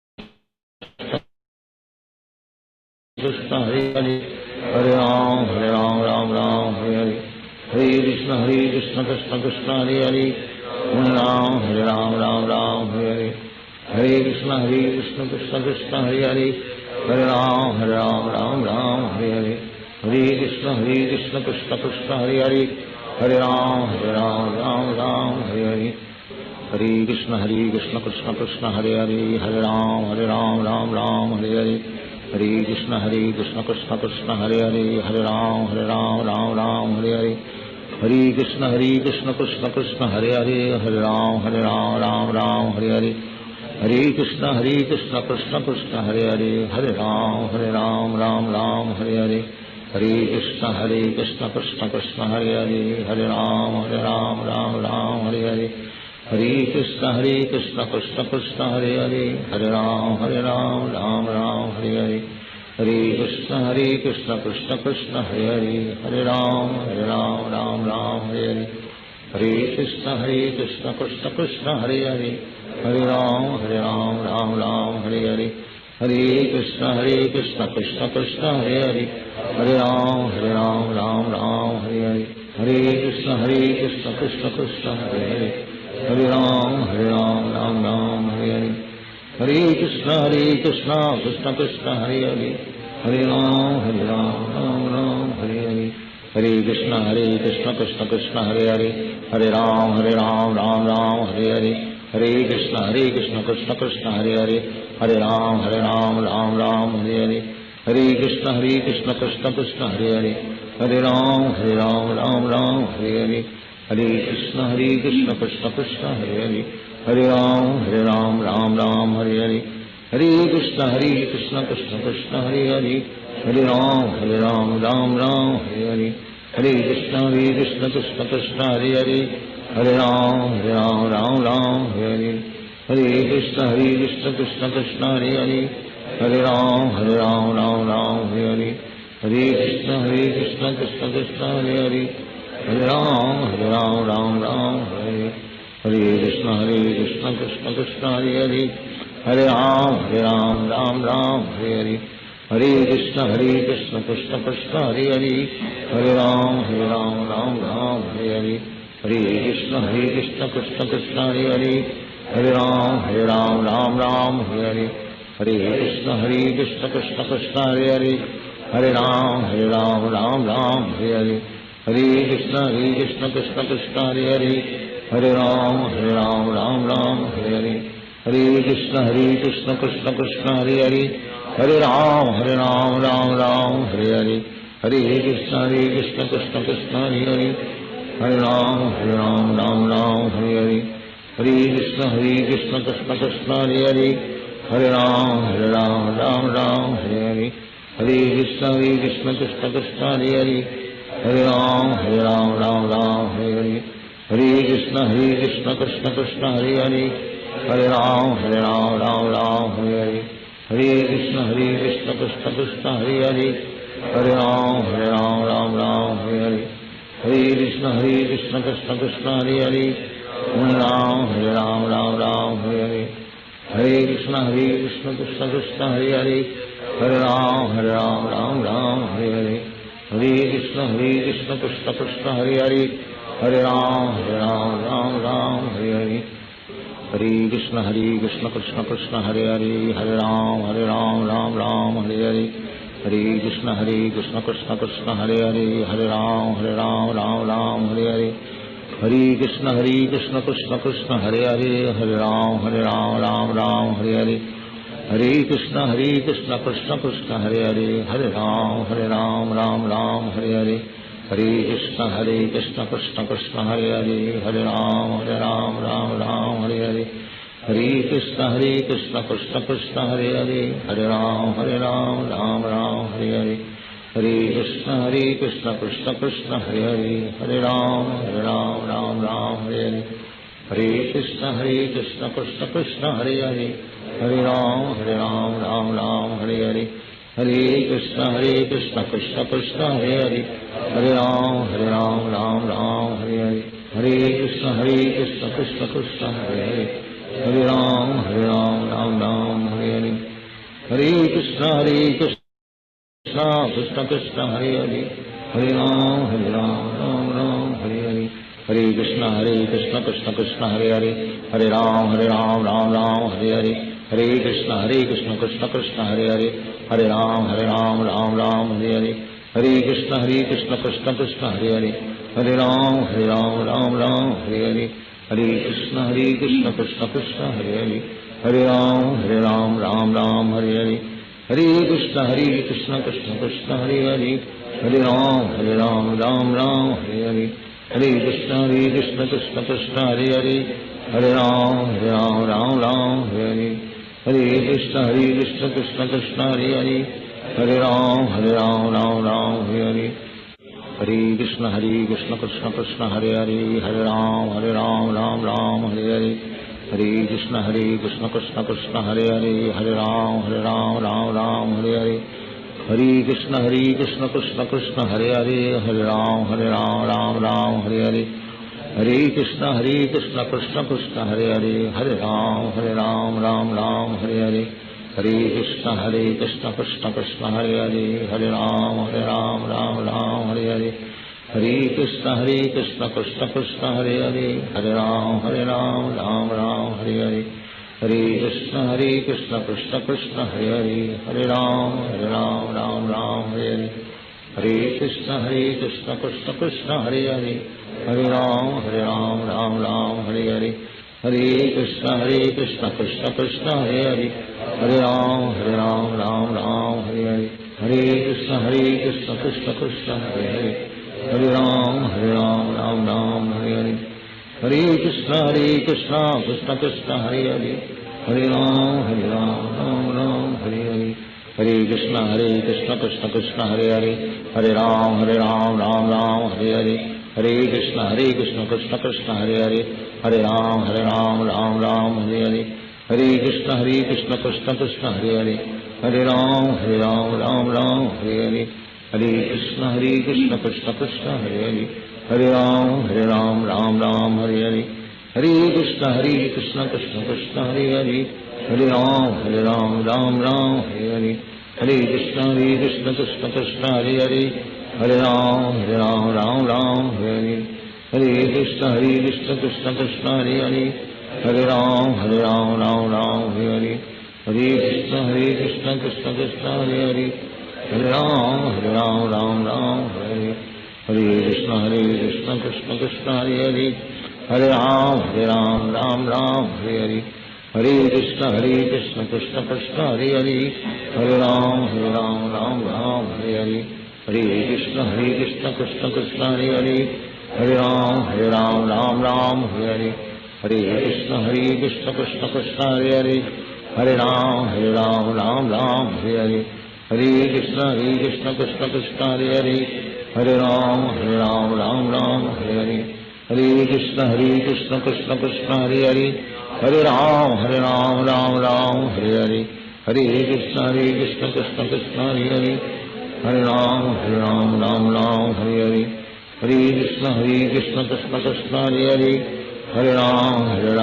Krishna Hare Hare, Hare Ram Hare Hare, Hare Krishna Krishna Krishna Hare Hare, Hare Ram Hare Hare, Hare Krishna Krishna Krishna Hare Hare, Hare Ram Hare Hare, Hare Krishna Krishna Krishna Hare Hare, Hare Ram Hare Hare, Hare Krishna Krishna Krishna Hare Hare, Hare Ram Hare Hare, Hare Krishna Krishna Krishna Hare Hare, Hare Ram Hare Hare, Hare Krishna Krishna Krishna Hare Hare, Hare Ram Hare Hare, Hare Krishna Krishna Krishna Hare Hare, Hare Ram Ram Ram Hare Hare, Hare Krishna Krishna Krishna Hare Hare, Hare Ram Ram Ram Hare Hare, Hare Krishna Krishna Krishna Hare Hare, Hare Ram Ram Hare Hare, Hare Krishna Krishna Krishna Hare Hare, Hare Ram Ram Hare Hare, Hare Krishna Krishna Krishna Hare Hare, Hare Ram Ram Hare Hare, Hare Krishna Krishna Krishna Hare Hare, Hare Ram Ram Hare Hare, Hare Krishna Krishna Krishna Hare Hare, Hare Ram Ram Hare Hare, Hare Krishna Krishna Krishna Hare Hare, Hare Ram Ram Hare Hare, Hare Krishna Krishna Krishna Hare Hare, Hare Ram Ram Hare Hare, Hare Krishna Krishna Krishna Hare Hare, Hare Ram Ram Hare Hare, Hare Krishna Krishna Krishna Hare Hare, Hare Ram Ram Hare Hare, Hare Krishna Krishna Krishna Hare Hare, Hare Ram Ram Hare Hare, Hare Krishna Krishna Krishna Hare Hare, Hare Ram Ram Hare Hare, Hare Krishna Krishna Krishna Hare Hare, Hare Ram Ram Hare Hare, Hare Krishna Krishna Krishna Hare Hare, Hare Ram Ram Hare Hare, Hare Krishna Krishna Krishna Hare Hare, Hare Ram Ram Hare Hare, Hare Krishna Krishna Krishna Hare Hare, Hare Ram Ram Hare Hare, Hare Krishna Krishna Krishna Hare Hare, Hare Ram Ram Hare Hare, Hare Krishna Krishna Krishna Hare Hare, Hare Ram Ram Hare Hare, Hare Krishna Krishna Krishna Hare Hare, Hare Ram Ram Hare Hare, Hare Krishna Krishna Krishna Hare Hare, Hare Ram Ram Hare Hare, Hare Krishna Krishna Krishna Hare Hare, Hare Ram Ram Hare Hare, Hare Krishna Krishna Krishna Hare Hare, Hare Ram Hare Hare, Hare Krishna Krishna Krishna Hare Hare, Hare Ram Hare Hare, Hare Krishna Krishna Krishna Hare Hare, Hare Ram Hare Hare, Hare Krishna Krishna Krishna Hare Hare, Hare Ram Hare Hare, Hare Krishna Krishna Krishna Hare Hare, Hare Ram Hare Hare, Hare Krishna Krishna Krishna Hare Hare, Hare Ram Hare Hare, Hare Krishna Krishna Krishna Hare Hare, Hare Ram Hare Hare, Hare Krishna Krishna Krishna Hare Hare, Hare Ram Hare Hare, Hare Krishna Krishna Krishna Hare Hare, Hare Ram Hare Hare, Hare Krishna Krishna Krishna Hare Hare, Hare Ram Hare Hare, Hare Krishna Krishna Krishna Hare Hare, Hare Ram Hare Hare, Hare Krishna Krishna Krishna Hare Hare, Hare Ram Hare Hare, Hare Krishna Krishna Krishna Hare Hare, Hare Ram Hare Hare, Hare Krishna Krishna Krishna Hare Hare, Hare Ram Hare Hare, Hare Krishna Krishna Krishna Hare Hare, Hare Ram Hare Hare, Hare Krishna Krishna Krishna Hare Hare, Hare Ram Hare Hare, Hare Krishna Krishna Krishna Hare Hare, Hare Ram Hare Hare, Hare Krishna Krishna Krishna Hare Hare, Hare Ram Hare Hare, Hare Krishna Krishna Krishna Hare Hare, Hare Ram Hare Hare, Hare Krishna Krishna Krishna Hare Hare, Hare Ram Hare Hare, Hare Krishna Krishna Krishna Hare Hare, Hare Ram Hare Hare, Hare Krishna Krishna Krishna Hare Hare, Hare Ram Hare Hare, Hare Krishna Krishna Krishna Hare Hare, Hare Ram Hare Hare, Hare Krishna Krishna Krishna Hare Hare, Hare Ram Hare Hare, Hare Krishna Krishna Krishna Hare Hare, Hare Ram Hare Hare, Hare Krishna Krishna Krishna Hare Hare, Hare Ram Ram Ram Hare Hare, Hare Krishna Krishna Krishna Hare Hare, Hare Ram Ram Ram Hare Hare, Hare Krishna Krishna Krishna Hare Hare, Hare Ram Ram Ram Hare Hare, Hare Krishna Krishna Krishna Hare Hare, Hare Ram Ram Hare Hare, Hare Krishna Krishna Krishna Hare Hare, Hare Ram Ram Hare Hare, Hare Krishna Krishna Krishna Hare Hare, Hare Ram Ram Hare Hare, Hare Krishna Krishna Krishna Hare Hare, Hare Ram Ram Hare Hare, Hare Krishna Krishna Krishna Hare Hare, Hare Ram Ram Hare Hare, Hare Krishna Krishna Krishna Hare Hare, Hare Ram Ram Hare Hare, Hare Krishna Krishna Krishna Hare Hare, Hare Ram Ram Hare Hare, Hare Krishna Krishna Krishna Hare Hare, Hare Ram Ram Hare Hare, Hare Krishna Krishna Krishna Hare Hare, Hare Ram Ram Hare Hare, Hare Krishna Krishna Krishna Hare Hare, Hare Ram Ram Hare Hare, Hare Krishna Krishna Krishna Hare Hare, Hare Ram Ram Hare Hare, Hare Krishna Krishna Krishna Hare Hare, Hare Ram Ram Hare Hare, Hare Krishna Krishna Krishna Hare Hare, Hare Ram Ram Hare Hare, Hare Krishna Krishna Krishna Hare Hare, Hare Ram Ram Hare Hare, Hare Krishna Krishna Krishna Hare Hare, Hare Ram Ram Hare Hare, Hare Krishna Krishna Krishna Hare Hare, Hare Ram Ram Hare Hare, Hare Krishna Krishna Krishna Hare Hare, Hare Ram Ram Hare Hare, Hare Krishna Krishna Krishna Hare Hare, Hare Ram Ram Hare Hare, Hare Krishna Krishna Krishna Hare Hare, Hare Ram Ram Hare Hare, Hare Krishna Krishna Krishna Hare Hare, Hare Ram Ram Hare Hare, Hare Krishna Krishna Krishna Hare Hare, Hare Ram Ram Hare Hare, Hare Krishna Krishna Krishna Hare Hare, Hare Ram Ram Hare Hare, Hare Krishna Krishna Krishna Hare Hare, Hare Ram Ram Hare Hare, Hare Krishna Krishna Krishna Hare Hare, Hare Ram Ram Hare Hare, Hare Krishna Krishna Krishna Hare Hare, Hare Ram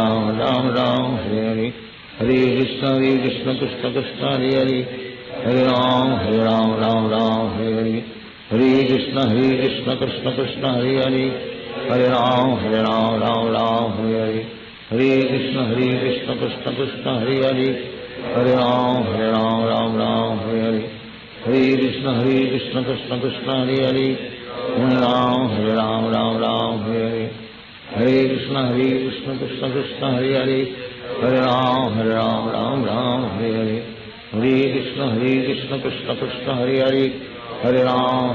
Ram Hare Hare, Hare Krishna Krishna Krishna Hare Hare, Hare Ram Hare Hare, Hare Krishna Krishna Krishna Hare Hare, Hare Ram Hare Hare, Hare Krishna Krishna Krishna Hare Hare, Hare Ram Hare Hare, Hare Krishna Krishna Krishna Hare Hare, Hare Ram Hare Hare, Hare Krishna Krishna Krishna Hare Hare, Hare Ram Hare Hare, Hare Krishna Krishna Krishna Hare Hare, Hare Ram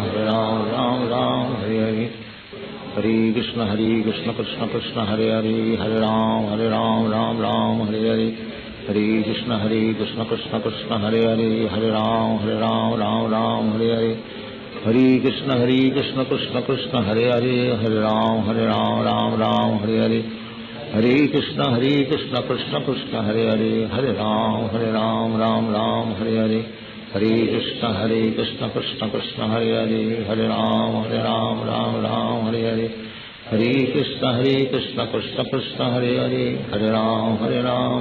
Hare Hare, Hare Krishna Krishna Krishna Hare Hare, Hare Ram Hare Hare, Hare Krishna Krishna Krishna Hare Hare, Hare Ram Hare Hare, Hare Krishna Krishna Krishna Hare Hare, Hare Ram Hare Hare, Hare Krishna Krishna Krishna Hare Hare, Hare Ram Hare Hare, Hare Krishna Krishna Krishna Hare Hare, Hare Ram Hare Hare, Hare Krishna Krishna Krishna Hare Hare, Hare Ram Hare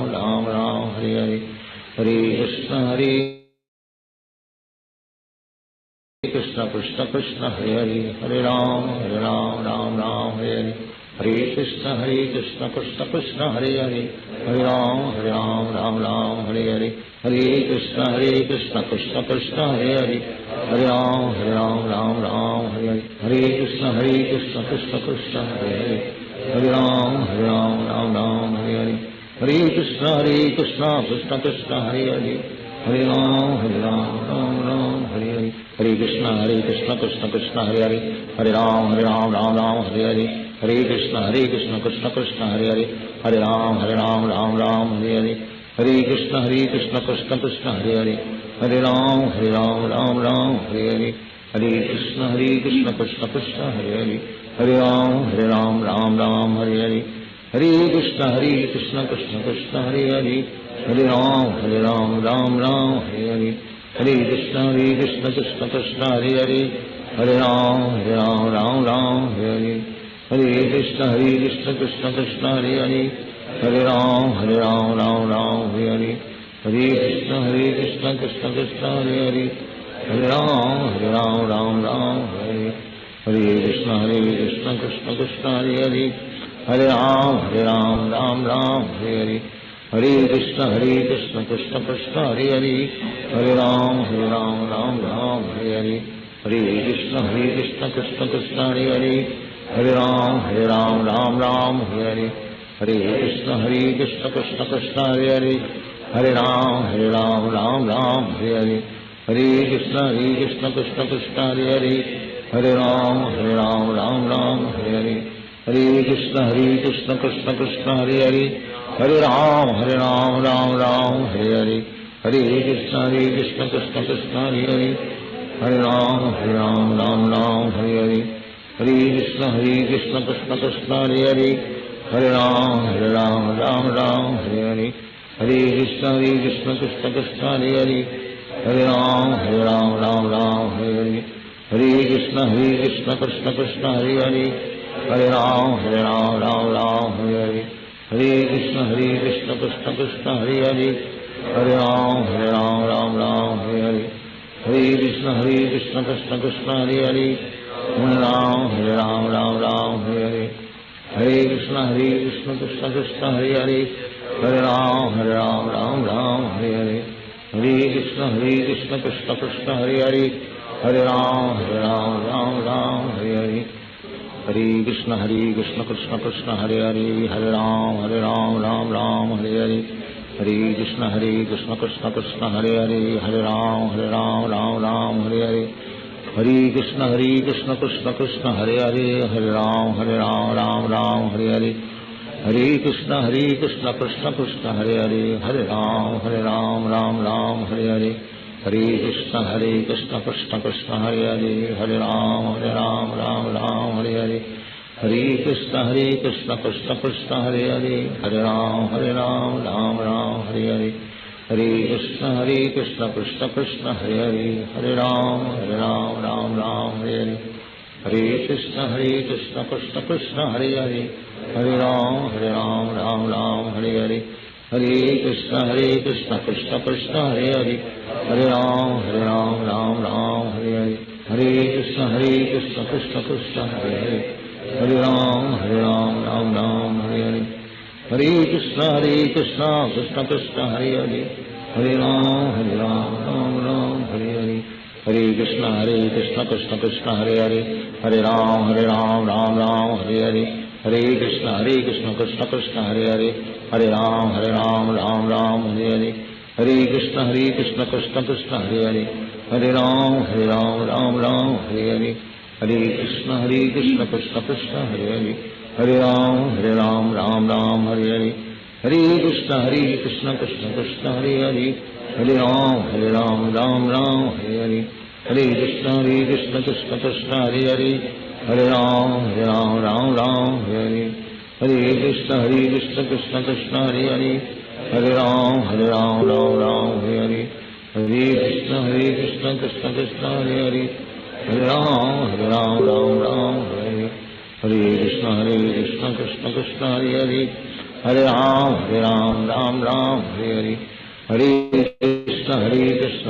Hare, Hare Krishna Krishna Krishna Hare Hare, Hare Ram Hare Hare, Hare Krishna Krishna Krishna Hare Hare, Hare Ram Hare Hare, Hare Krishna Krishna Krishna Hare Hare, Hare Ram Hare Hare, Hare Krishna Krishna Krishna Hare Hare, Hare Ram Hare Hare, Hare Krishna Krishna Krishna Hare Hare, Hare Ram Hare Hare, Hare Krishna Krishna Krishna Hare Hare, Hare Ram Hare Hare, Hare Krishna Krishna Krishna Hare Hare, Hare Ram Hare Hare, Hare Krishna Krishna Krishna Hare Hare, Hare Ram Ram Ram Hare Hare, Hare Krishna Krishna Krishna Hare Hare, Hare Ram Ram Ram Hare Hare, Hare Krishna Krishna Krishna Hare Hare, Hare Ram Ram Ram Hare Hare, Hare Krishna Krishna Krishna Hare Hare, Hare Ram Ram Ram Hare Hare, Hare Krishna Krishna Krishna Hare Hare, Hare Ram Ram Ram Hare Hare, Hare Krishna Krishna Krishna Hare Hare, Hare Ram Ram Ram Hare Hare, Hare Krishna Krishna Krishna Hare Hare, Hare Ram Ram Ram Hare Hare, Hare Krishna Krishna Krishna Hare Hare, Hare Ram Ram Ram Hare Hare, Hare Krishna Krishna Krishna Hare Hare, Hare Ram Ram Ram Hare Hare, Hare Krishna Krishna Krishna Hare Hare, Hare Ram Ram Ram Hare Hare, Hare Krishna Krishna Krishna Hare Hare, Hare Ram Ram Ram Hare Hare, Hare Krishna Krishna Krishna Hare Hare, Hare Ram Ram Ram Hare Hare, Hare Krishna Krishna Krishna Hare Hare, Hare Ram Ram Ram Hare Hare, Hare Krishna Krishna Krishna Hare Hare, Hare Ram Ram Ram Hare Hare, Hare Krishna Krishna Krishna Hare Hare, Hare Ram Ram Ram Hare Hare, Hare Krishna Krishna Krishna Hare Hare, Hare Ram Ram Hare Hare, Hare Krishna Krishna Krishna Hare Hare, Hare Ram Ram Hare Hare, Hare Krishna Krishna Krishna Hare Hare, Hare Ram Ram Hare Hare, Hare Krishna Krishna Krishna Hare Hare, Hare Ram Ram Hare Hare, Hare Krishna Krishna Krishna Hare Hare, Hare Ram Ram Hare Hare, Hare Krishna Krishna Krishna Hare Hare, Hare Ram Ram Hare Hare, Hare Krishna Krishna Krishna Hare Hare, Hare Ram Ram Hare Hare, Hare Krishna Krishna Krishna Hare Hare, Hare Ram Ram Hare Hare, Hare Krishna Krishna Krishna Hare Hare, Hare Ram Ram Hare Hare, Hare Krishna Krishna Krishna Hare Hare, Hare Ram Ram Hare Hare, Hare Krishna Krishna Krishna Hare Hare, Hare Ram Ram Hare Hare, Hare Krishna Krishna Krishna Hare Hare, Hare Ram Ram Hare Hare, Hare Krishna Krishna Krishna Hare Hare, Hare Ram Ram Hare Hare, Hare Krishna Krishna Krishna Hare Hare, Hare Ram Ram Hare Hare, Hare Krishna Krishna Krishna Hare Hare, Hare Ram Ram Hare Hare, Hare Krishna Krishna Krishna Hare Hare, Hare Ram Ram Hare Hare, Hare Krishna Krishna Krishna Hare Hare, Hare Ram Ram Hare Hare, Hare Krishna Krishna Krishna Hare Hare, Hare Ram Ram Hare Hare, Hare Krishna Krishna Krishna Hare Hare, Hare Ram Ram Hare Hare, Hare Krishna Krishna Krishna Hare Hare, Hare Ram Ram Hare Hare, Hare Krishna Krishna Krishna Hare Hare, Hare Ram Ram Hare Hare, Hare Krishna Krishna Krishna Hare Hare, Hare Ram Ram Hare Hare, Hare Krishna Krishna Krishna Hare Hare, Hare Ram Ram Hare Hare, Hare Krishna Krishna Krishna Hare Hare, Hare Ram Ram Hare Hare, Hare Krishna Krishna Krishna Hare Hare, Hare Ram Ram Hare Hare, Hare Krishna Krishna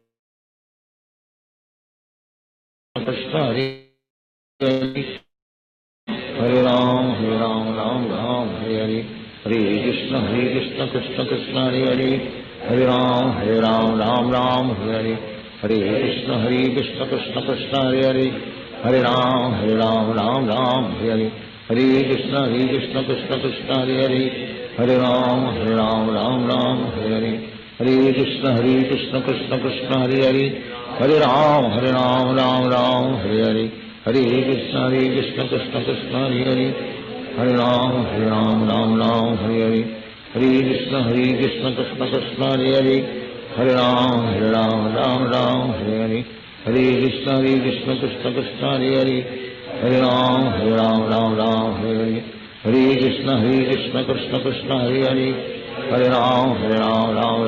Krishna Hare Hare, Hare Ram Hare Hare, Hare Krishna Krishna Krishna Hare Hare, Hare Ram Hare Hare, Hare Krishna Krishna Krishna Hare Hare, Hare Ram Ram Hare Hare, Hare Krishna Krishna Krishna Hare Hare, Hare Ram Ram Hare Hare, Hare Krishna Krishna Krishna Hare Hare, Hare Ram Ram Hare Hare, Hare Krishna Krishna Krishna Hare Hare, Hare Ram Ram Hare Hare, Hare Krishna Krishna Krishna Hare Hare Hare Ram Ram Ram Hare Hare Hare Krishna Krishna Krishna Hare Hare Hare Ram Ram Hare Hare Hare Krishna Krishna Krishna Hare Hare Hare Ram Ram